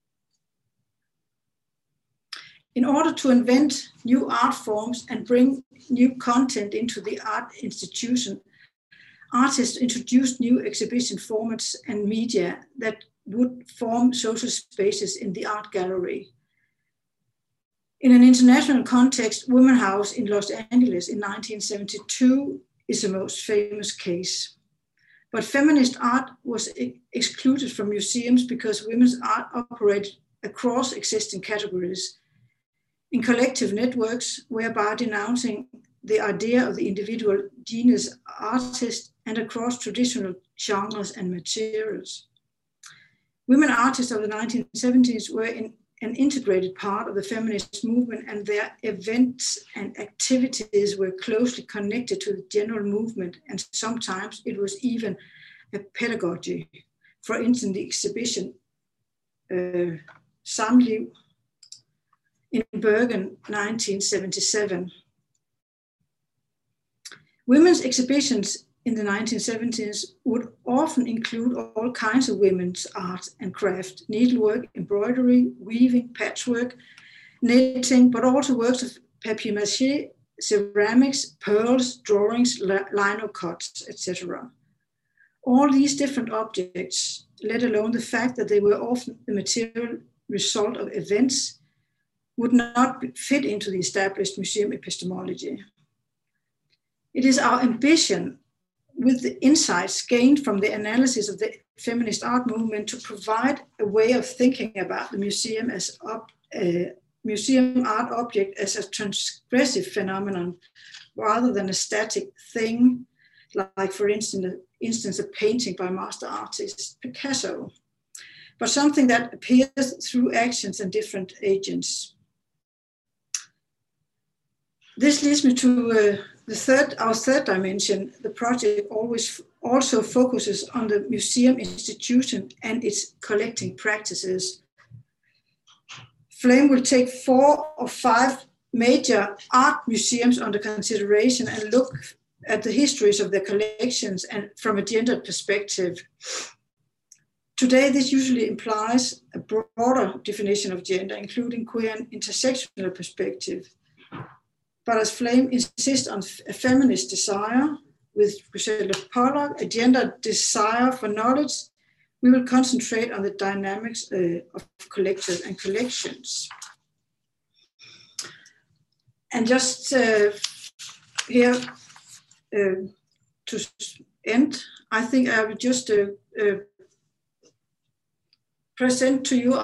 In order to invent new art forms and bring new content into the art institution, artists introduced new exhibition formats and media that would form social spaces in the art gallery. In an international context, Women House in Los Angeles in 1972 is the most famous case. But feminist art was excluded from museums because women's art operated across existing categories in collective networks, whereby denouncing the idea of the individual genius artist and across traditional genres and materials. Women artists of the 1970s were an integrated part of the feminist movement, and their events and activities were closely connected to the general movement, and sometimes it was even a pedagogy. For instance, the exhibition Samliv in Bergen, 1977. Women's exhibitions in the 1970s would often include all kinds of women's art and craft, needlework, embroidery, weaving, patchwork, knitting, but also works of papier-mâché, ceramics, pearls, drawings, lino cuts, etc. All these different objects, let alone the fact that they were often the material result of events, would not fit into the established museum epistemology. It is our ambition, with the insights gained from the analysis of the feminist art movement, to provide a way of thinking about the museum as museum art object as a transgressive phenomenon, rather than a static thing, like for instance a painting by master artist Picasso, but something that appears through actions and different agents. This leads me to our third dimension. The project also focuses on the museum institution and its collecting practices. Flame will take 4 or 5 major art museums under consideration and look at the histories of their collections and from a gendered perspective. Today, this usually implies a broader definition of gender, including queer and intersectional perspective. But as Flame insists on a feminist desire, with Griselda Pollock, a gender desire for knowledge, we will concentrate on the dynamics of collectors and collections. And just here to end, I think I will just present to you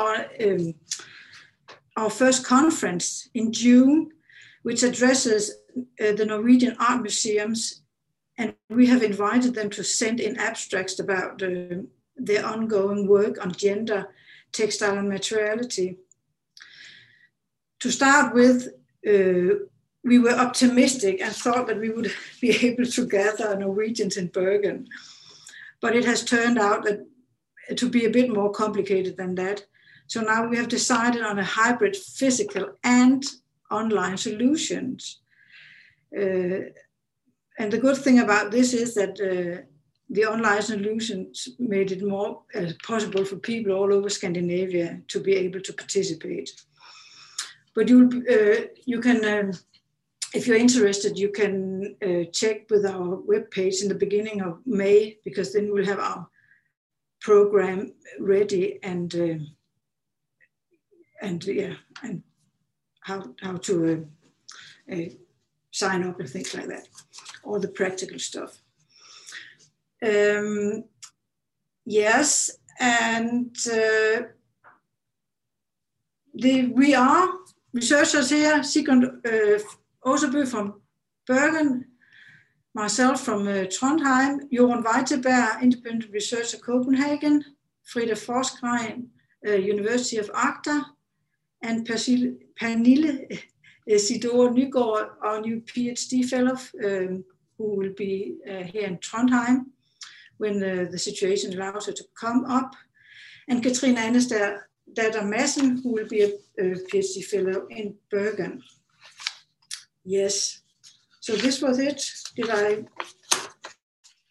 our first conference in June, which addresses the Norwegian art museums, and we have invited them to send in abstracts about their ongoing work on gender, textile, and materiality. To start with, we were optimistic and thought that we would be able to gather Norwegians in Bergen, but it has turned out to be a bit more complicated than that. So now we have decided on a hybrid physical and online solutions. And the good thing about this is that the online solutions made it more possible for people all over Scandinavia to be able to participate. But you can, if you're interested, you can check with our webpage in the beginning of May, because then we'll have our program ready and how to sign up and things like that, all the practical stuff. Yes, and we are researchers here, Sigrid Åsebø from Bergen, myself from Trondheim, Jorunn Weiteberg, Independent Researcher Copenhagen, Frida Forskrein, University of Agder, and Pernille Sidor Nygaard, our new PhD fellow, who will be here in Trondheim when the situation allows her to come up, and Katrine Annestad Datter Madsen, who will be a PhD fellow in Bergen. Yes, so this was it. Did I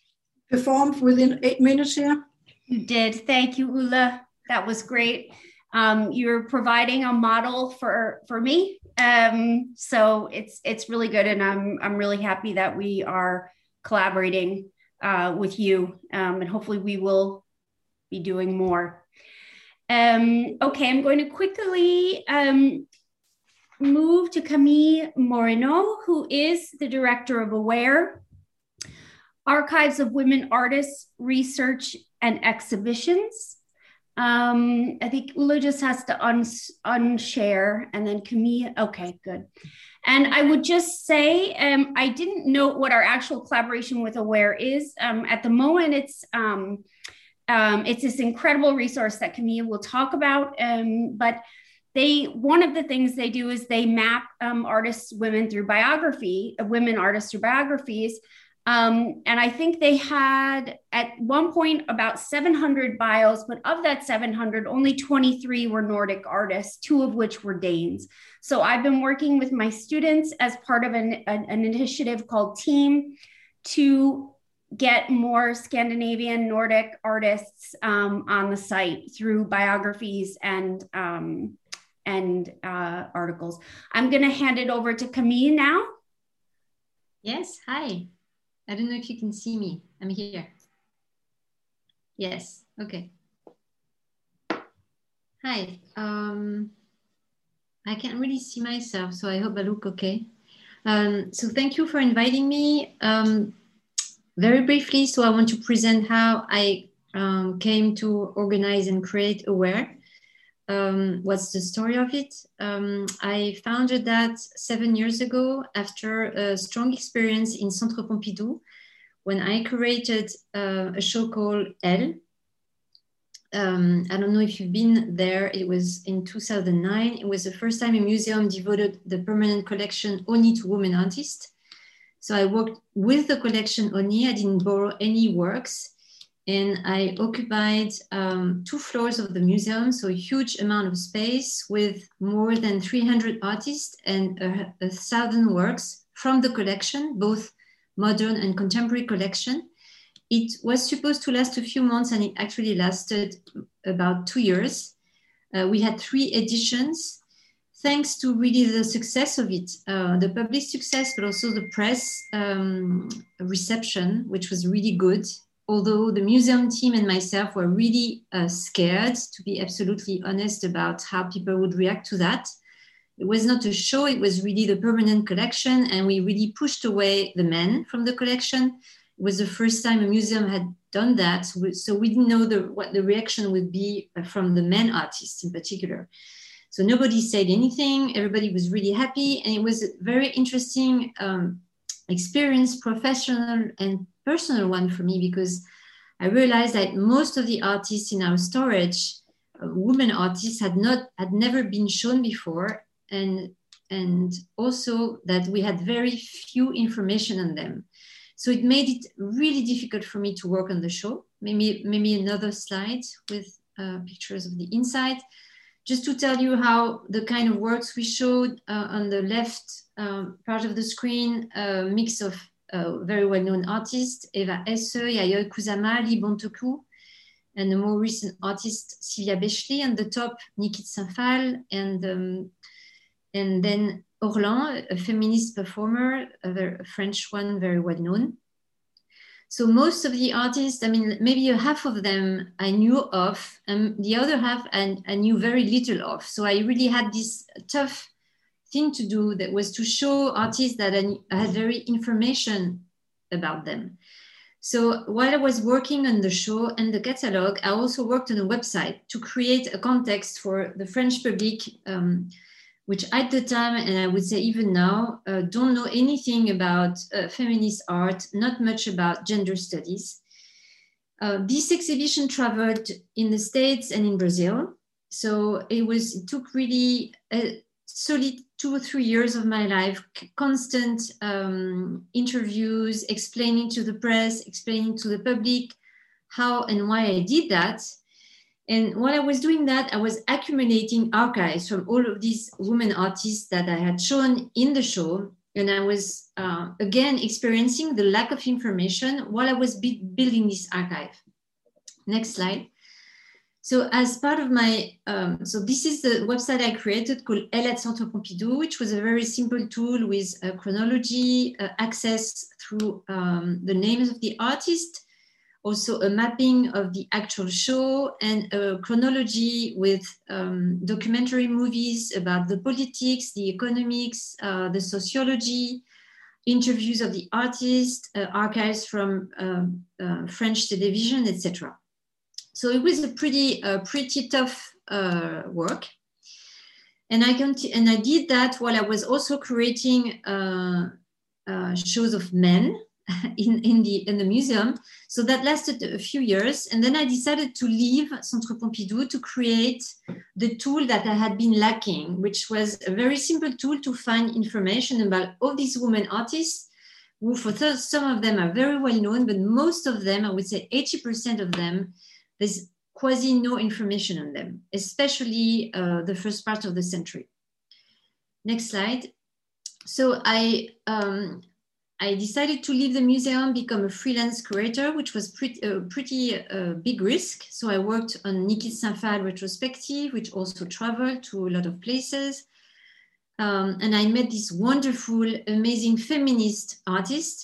performed within 8 minutes here. You did. Thank you, Ulla. That was great. You're providing a model for me. So it's really good. And I'm really happy that we are collaborating with you. And hopefully we will be doing more. Okay, I'm going to quickly move to Camille Moreno, who is the director of AWARE, Archives of Women Artists, Research and Exhibitions. I think Ulla just has to unshare, and then Camille. Okay, good. And I would just say, I didn't know what our actual collaboration with AWARE is. At the moment, it's this incredible resource that Camille will talk about. But one of the things they do is they map artists, women through biography, women artists through biographies. And I think they had at one point about 700 bios, but of that 700, only 23 were Nordic artists, 2 of which were Danes. So I've been working with my students as part of an initiative called TEAM to get more Scandinavian Nordic artists on the site through biographies and articles. I'm going to hand it over to Camille now. Yes, hi. I don't know if you can see me. I'm here. Yes, okay. Hi. I can't really see myself, so I hope I look okay. So thank you for inviting me. Very briefly, so I want to present how I came to organize and create AWARE. What's the story of it? I founded that 7 years ago after a strong experience in Centre Pompidou when I created a show called Elle. I don't know if you've been there. It was in 2009. It was the first time a museum devoted the permanent collection only to women artists. So I worked with the collection only. I didn't borrow any works. And I occupied 2 floors of the museum, so a huge amount of space with more than 300 artists and 1,000 works from the collection, both modern and contemporary collection. It was supposed to last a few months, and it actually lasted about 2 years. We had 3 editions, thanks to really the success of it, the public success, but also the press reception, which was really good. Although the museum team and myself were really scared, to be absolutely honest, about how people would react to that. It was not a show, it was really the permanent collection, and we really pushed away the men from the collection. It was the first time a museum had done that, so we didn't know what the reaction would be from the men artists in particular. So nobody said anything, everybody was really happy, and it was a very interesting experience, professional and personal one for me, because I realized that most of the artists in our storage, women artists, had never been shown before, and also that we had very few information on them. So it made it really difficult for me to work on the show. Maybe another slide with pictures of the inside, just to tell you how the kind of works we showed on the left part of the screen, a mix of very well-known artists, Eva Esse, Yayoi Kusama, Lee Bontoku, and the more recent artist, Sylvia Bechley, and the top, Nikit Saint-Phal, and then Orlan, a feminist performer, a French one, very well-known. So most of the artists, I mean, maybe half of them I knew of, and the other half I knew very little of. So I really had this tough thing to do, that was to show artists that I had very information about them. So while I was working on the show and the catalog, I also worked on a website to create a context for the French public, which at the time, and I would say even now, don't know anything about feminist art, not much about gender studies. This exhibition traveled in the States and in Brazil. So it took really a solid 2 or 3 years of my life, constant interviews, explaining to the press, explaining to the public how and why I did that. And while I was doing that, I was accumulating archives from all of these women artists that I had shown in the show, And I was, again, experiencing the lack of information while I was building this archive. Next slide. So as part of my, so this is the website I created called Elle at Centre Pompidou, which was a very simple tool with chronology, access through the names of the artist, also a mapping of the actual show, and a chronology with documentary movies about the politics, the economics, the sociology, interviews of the artist, archives from French television, etc. So it was a pretty tough work, and I did that while I was also creating shows of men in the museum. So that lasted a few years, and then I decided to leave Centre Pompidou to create the tool that I had been lacking, which was a very simple tool to find information about all these women artists, who for some of them are very well known, but most of them, I would say 80% of them, there's quasi no information on them, especially the first part of the century. Next slide. So I decided to leave the museum, become a freelance curator, which was pretty big risk. So I worked on Niki Saint-Phal retrospective, which also traveled to a lot of places. And I met this wonderful, amazing feminist artist.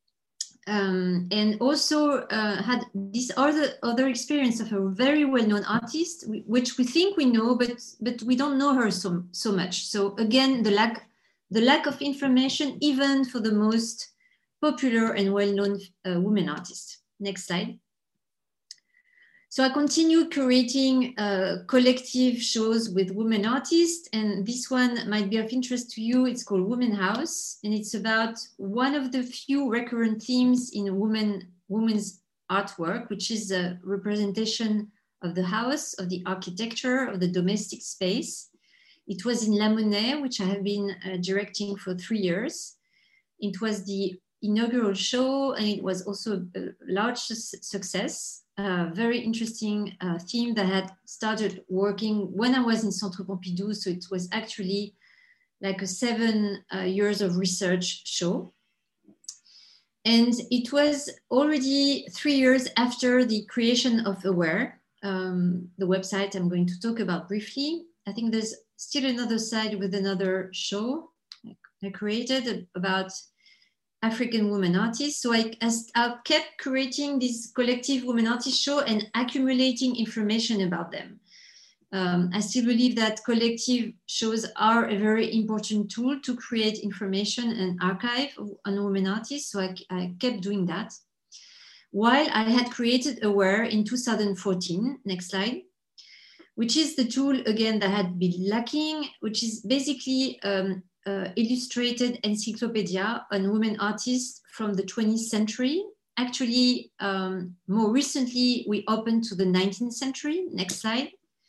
And also had this other experience of a very well-known artist, which we think we know, but we don't know her so much. So again, the lack of information, even for the most popular and well-known women artists. Next slide. So I continued curating collective shows with women artists, and this one might be of interest to you. It's called Women House, and it's about one of the few recurrent themes in women's artwork, which is a representation of the house, of the architecture, of the domestic space. It was in La Monnaie, which I have been directing for 3 years. It was the inaugural show, and it was also a large success. Very interesting theme that had started working when I was in Centre Pompidou. So it was actually like a 7 years of research show. And it was already 3 years after the creation of Aware, the website I'm going to talk about briefly. I think there's still another side with another show I created about African women artists. So I kept creating this collective women artist show and accumulating information about them. I still believe that collective shows are a very important tool to create information and archive on women artists. So I kept doing that. While I had created Aware in 2014, next slide, which is the tool again that had been lacking, which is basically illustrated encyclopedia on women artists from the 20th century. Actually, more recently, we opened to the 19th century. Next slide.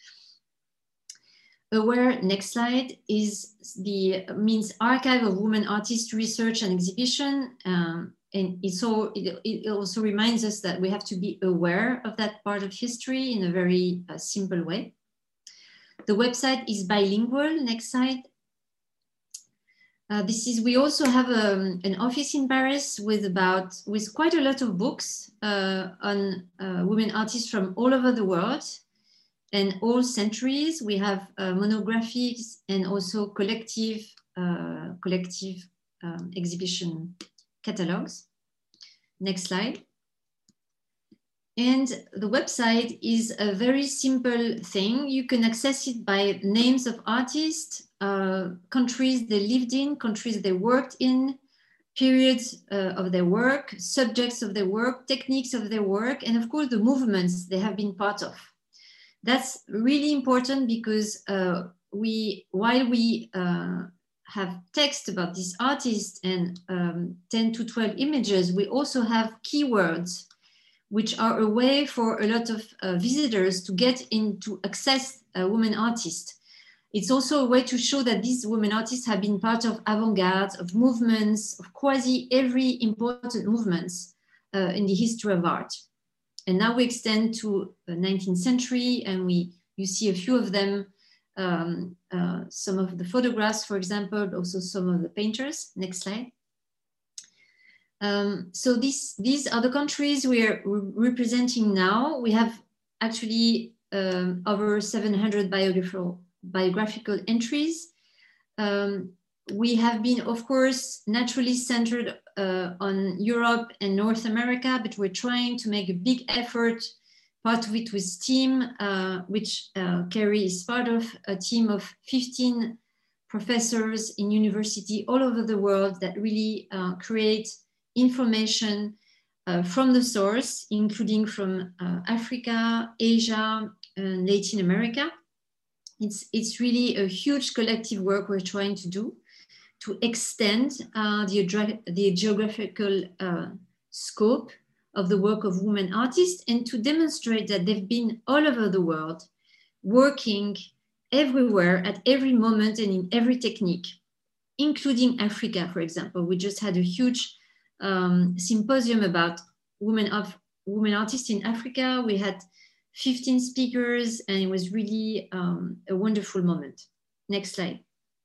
Aware, next slide, means Archive of Women Artists Research and Exhibition. And it also reminds us that we have to be aware of that part of history in a very simple way. The website is bilingual. Next slide. We also have an office in Paris with quite a lot of books on women artists from all over the world and all centuries. We have monographies and also collective exhibition catalogs. Next slide. And the website is a very simple thing. You can access it by names of artists, countries they lived in, countries they worked in, periods of their work, subjects of their work, techniques of their work, and of course the movements they have been part of. That's really important because while we have text about this artist and 10 to 12 images, we also have keywords, which are a way for a lot of visitors to get in to access a women artist. It's also a way to show that these women artists have been part of avant-garde, of movements, of quasi every important movements in the history of art. And now we extend to the 19th century, and you see a few of them some of the photographs, for example, but also some of the painters. Next slide. So these are the countries we are representing now. We have actually over 700 biographical entries. We have been, of course, naturally centered on Europe and North America, but we're trying to make a big effort, part of it with STEAM, which Kerry is part of, a team of 15 professors in university all over the world that really create information from the source, including from Africa, Asia, and Latin America. It's really a huge collective work we're trying to do to extend the geographical scope of the work of women artists, and to demonstrate that they've been all over the world, working everywhere at every moment and in every technique, including Africa, for example. We just had a huge symposium about women artists in Africa. We had 15 speakers, and it was really a wonderful moment. Next slide.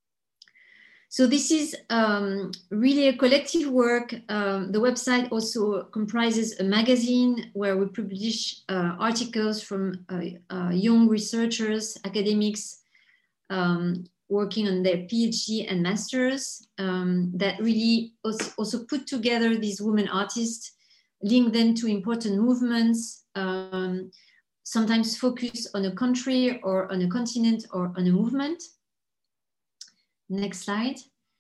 So this is really a collective work. The website also comprises a magazine where we publish articles from young researchers, academics working on their PhD and masters that really also put together these women artists, link them to important movements, sometimes focus on a country or on a continent or on a movement. Next slide.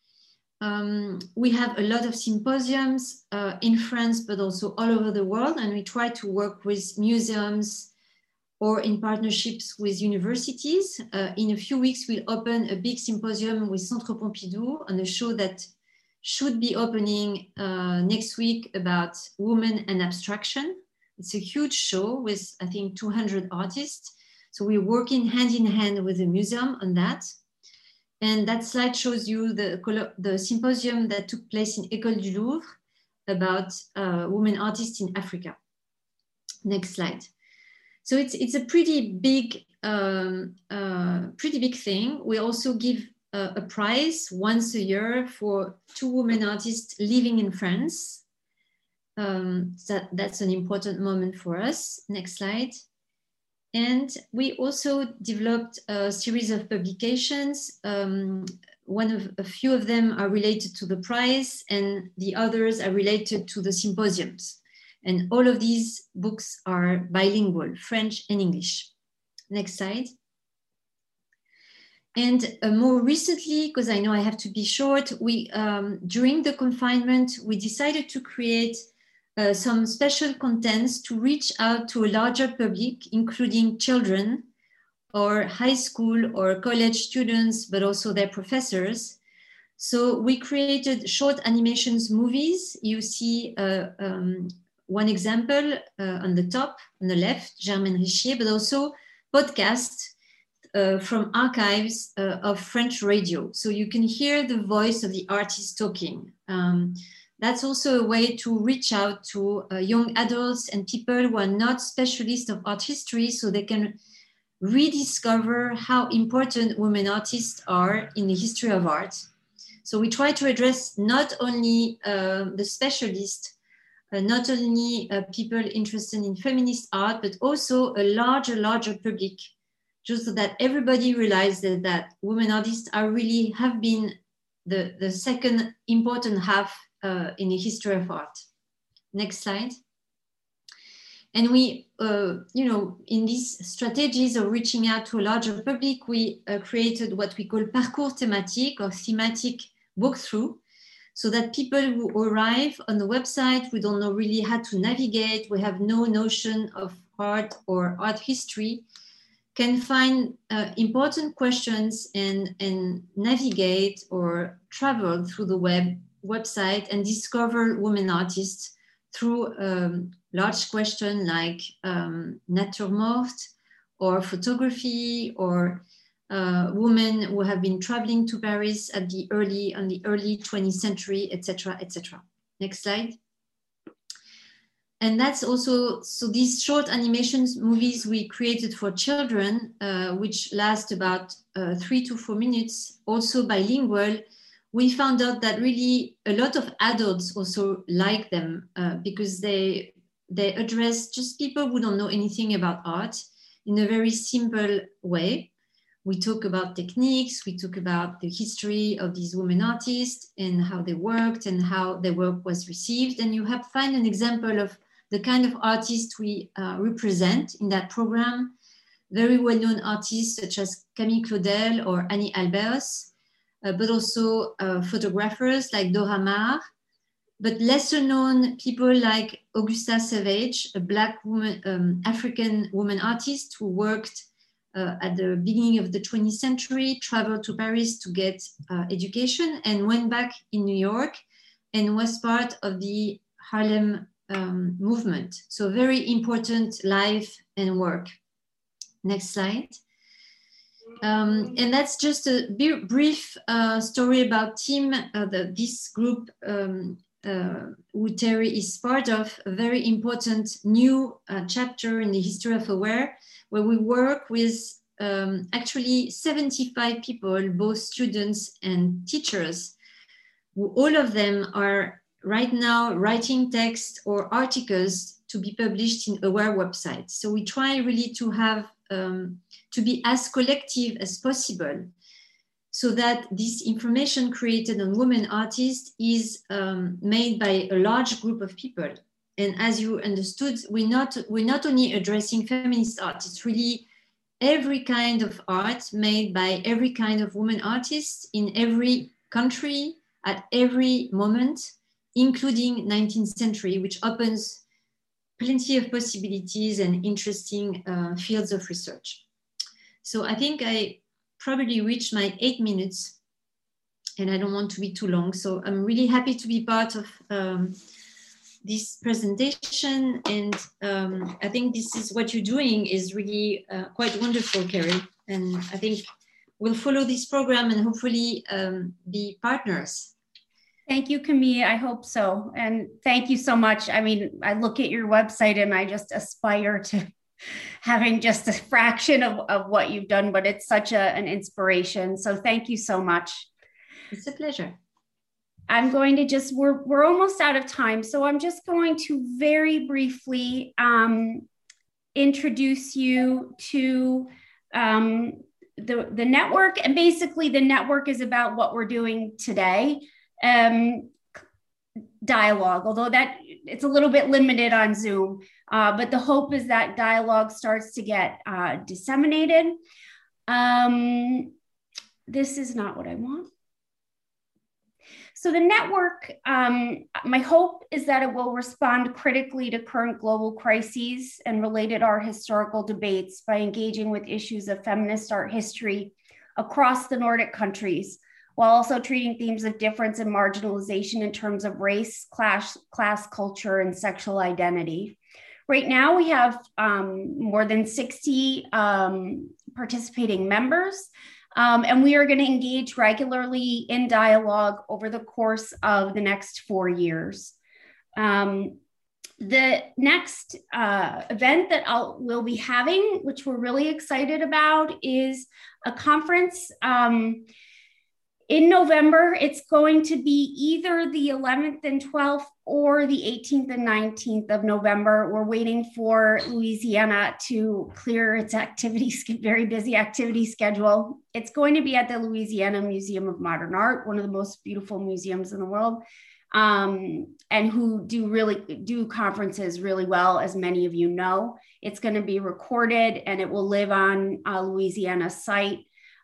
We have a lot of symposiums in France, but also all over the world. And we try to work with museums or in partnerships with universities. In a few weeks, we'll open a big symposium with Centre Pompidou on a show that should be opening next week about women and abstraction. It's a huge show with, I think, 200 artists. So we're working hand in hand with the museum on that. And that slide shows you the symposium that took place in École du Louvre about women artists in Africa. Next slide. So it's a pretty big thing. We also give a prize once a year for 2 women artists living in France. That's an important moment for us. Next slide. And we also developed a series of publications. A few of them are related to the prize, and the others are related to the symposiums. And all of these books are bilingual, French and English. Next slide. And more recently, because I know I have to be short, during the confinement, we decided to create some special contents to reach out to a larger public, including children or high school or college students, but also their professors. So we created short animations movies. You see one example on the top, on the left, Germaine Richier, but also podcasts from archives of French radio. So you can hear the voice of the artist talking. That's also a way to reach out to young adults and people who are not specialists of art history, so they can rediscover how important women artists are in the history of art. So we try to address not only the specialists, not only people interested in feminist art, but also a larger public, just so that everybody realizes that women artists have been the second important half in the history of art. Next slide. And we, in these strategies of reaching out to a larger public, we created what we call parcours thématique or thematic walkthrough, so that people who arrive on the website, we don't know really how to navigate, we have no notion of art or art history, can find important questions and navigate or travel through the website and discover women artists through large questions like nature morte or photography or women who have been traveling to Paris on the early 20th century, etc., etc. Next slide. And that's also, so these short animations movies we created for children, which last about 3 to 4 minutes, also bilingual, we found out that really a lot of adults also like them because they address just people who don't know anything about art in a very simple way. We talk about techniques, we talk about the history of these women artists and how they worked and how their work was received. And you have find an example of the kind of artists we represent in that program. Very well-known artists such as Camille Claudel or Annie Albers, but also photographers like Dora Maar, but lesser known people like Augusta Savage, a Black woman, African woman artist who worked at the beginning of the 20th century, traveled to Paris to get education and went back in New York and was part of the Harlem movement. So very important life and work. Next slide. And that's just a brief story about Team, this group who Terry is part of, a very important new chapter in the history of AWARE, where we work with actually 75 people, both students and teachers, who all of them are right now writing text or articles to be published in AWARE website. So we try really to have, to be as collective as possible so that this information created on women artists is made by a large group of people. And as you understood, we're not only addressing feminist art, it's really every kind of art made by every kind of woman artists in every country at every moment, including 19th century, which opens plenty of possibilities and interesting fields of research. So I think I probably reached my 8 minutes and I don't want to be too long. So I'm really happy to be part of this presentation. And I think this is what you're doing is really quite wonderful, Kerry. And I think we'll follow this program and hopefully be partners. Thank you, Camille. I hope so. And thank you so much. I mean, I look at your website and I just aspire to having just a fraction of what you've done, but it's such an inspiration. So thank you so much. It's a pleasure. I'm going to just, we're almost out of time. So I'm just going to very briefly introduce you to the network. And basically the network is about what we're doing today. Dialogue, although that it's a little bit limited on Zoom, but the hope is that dialogue starts to get disseminated. This is not what I want. So the network, my hope is that it will respond critically to current global crises and related art historical debates by engaging with issues of feminist art history across the Nordic countries, while also treating themes of difference and marginalization in terms of race, class, culture, and sexual identity. Right now, we have more than 60 participating members, and we are going to engage regularly in dialogue over the course of the next 4 years. The next event that we'll be having, which we're really excited about, is a conference in November. It's going to be either the 11th and 12th or the 18th and 19th of November. We're waiting for Louisiana to clear its very busy activity schedule. It's going to be at the Louisiana Museum of Modern Art, one of the most beautiful museums in the world, and who do conferences really well, as many of you know. It's going to be recorded and it will live on Louisiana's site.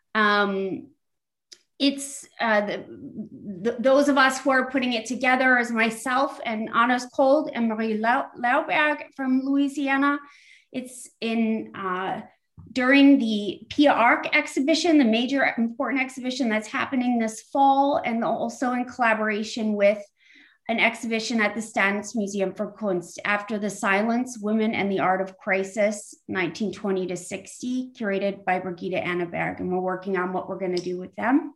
It's those of us who are putting it together as myself and Anders Kold and Marie Lauberg from Louisiana. It's in during the Pia Ark exhibition, the major important exhibition that's happening this fall, and also in collaboration with an exhibition at the Staatsmuseum für Kunst, After the Silence, Women and the Art of Crisis, 1920 to 60, curated by Brigitte Anneberg. And we're working on what we're going to do with them.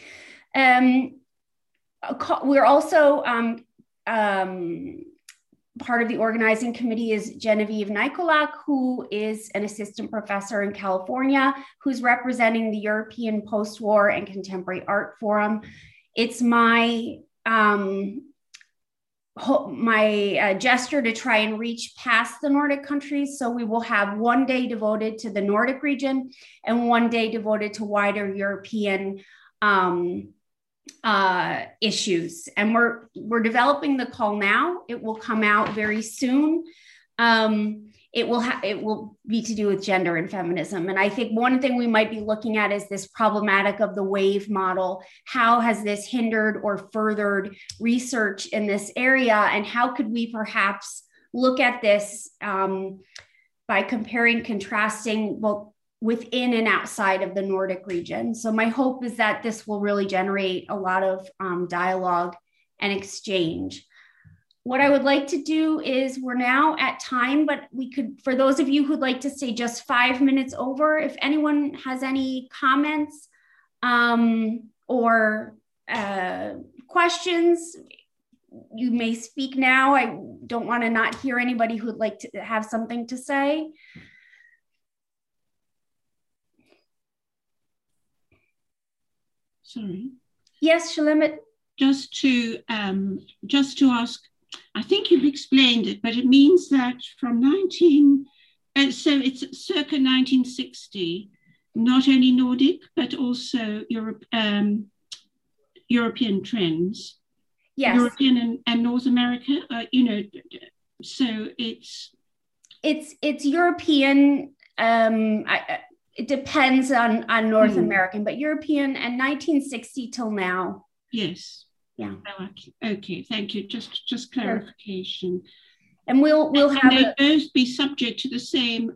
We're also part of the organizing committee is Genevieve Nicolak, who is an assistant professor in California, who's representing the European Post-War and Contemporary Art Forum. It's my gesture to try and reach past the Nordic countries. So we will have one day devoted to the Nordic region and one day devoted to wider European issues. And we're developing the call now. It will come out very soon. It will be to do with gender and feminism. And I think one thing we might be looking at is this problematic of the wave model. How has this hindered or furthered research in this area? And how could we perhaps look at this by comparing, contrasting, well, within and outside of the Nordic region. So my hope is that this will really generate a lot of dialogue and exchange. What I would like to do is, we're now at time, but we could, for those of you who'd like to stay just 5 minutes over, if anyone has any comments or questions, you may speak now. I don't want to not hear anybody who'd like to have something to say. Sorry. Yes, Shulamit. Just to ask, I think you've explained it, but it means that from so it's circa 1960, not only Nordic, but also European trends. Yes. European and North America, so it's European. It depends on North American, but European and 1960 till now. Yes. Yeah. Okay. Thank you. Just clarification. And we'll have they both be subject to the same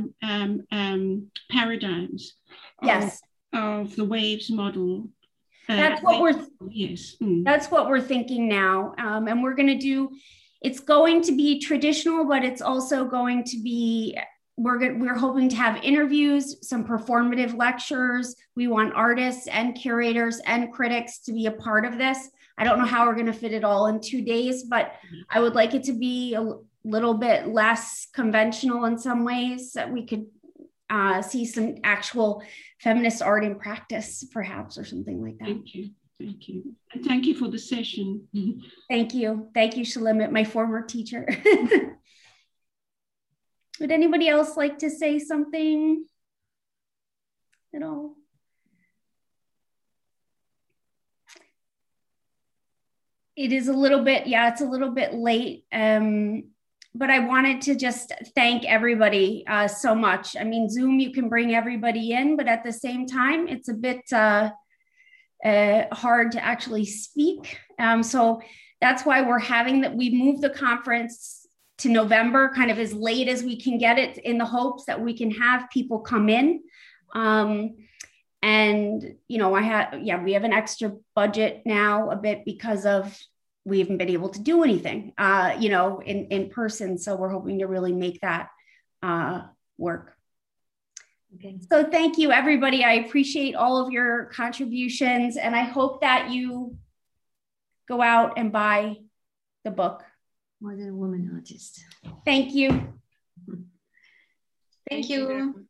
paradigms. Yes. Of the waves model. That's what we're. Yes. That's what we're thinking now, and we're going to do. It's going to be traditional, but it's also going to be. We're hoping to have interviews, some performative lectures. We want artists and curators and critics to be a part of this. I don't know how we're going to fit it all in 2 days, but I would like it to be a little bit less conventional in some ways, that we could see some actual feminist art in practice, perhaps, or something like that. Thank you. Thank you. And thank you for the session. Thank you. Thank you, Shulamit, my former teacher. Would anybody else like to say something at all? It is a little bit, it's a little bit late, but I wanted to just thank everybody so much. I mean, Zoom, you can bring everybody in, but at the same time, it's a bit hard to actually speak. So that's why we're having that. We moved the conference to November, kind of as late as we can get it, in the hopes that we can have people come in. And, we have an extra budget now a bit because of, we haven't been able to do anything, in person. So we're hoping to really make that work. Okay. So thank you, everybody. I appreciate all of your contributions, and I hope that you go out and buy the book. Modern Woman Artist. Thank you. Thank you.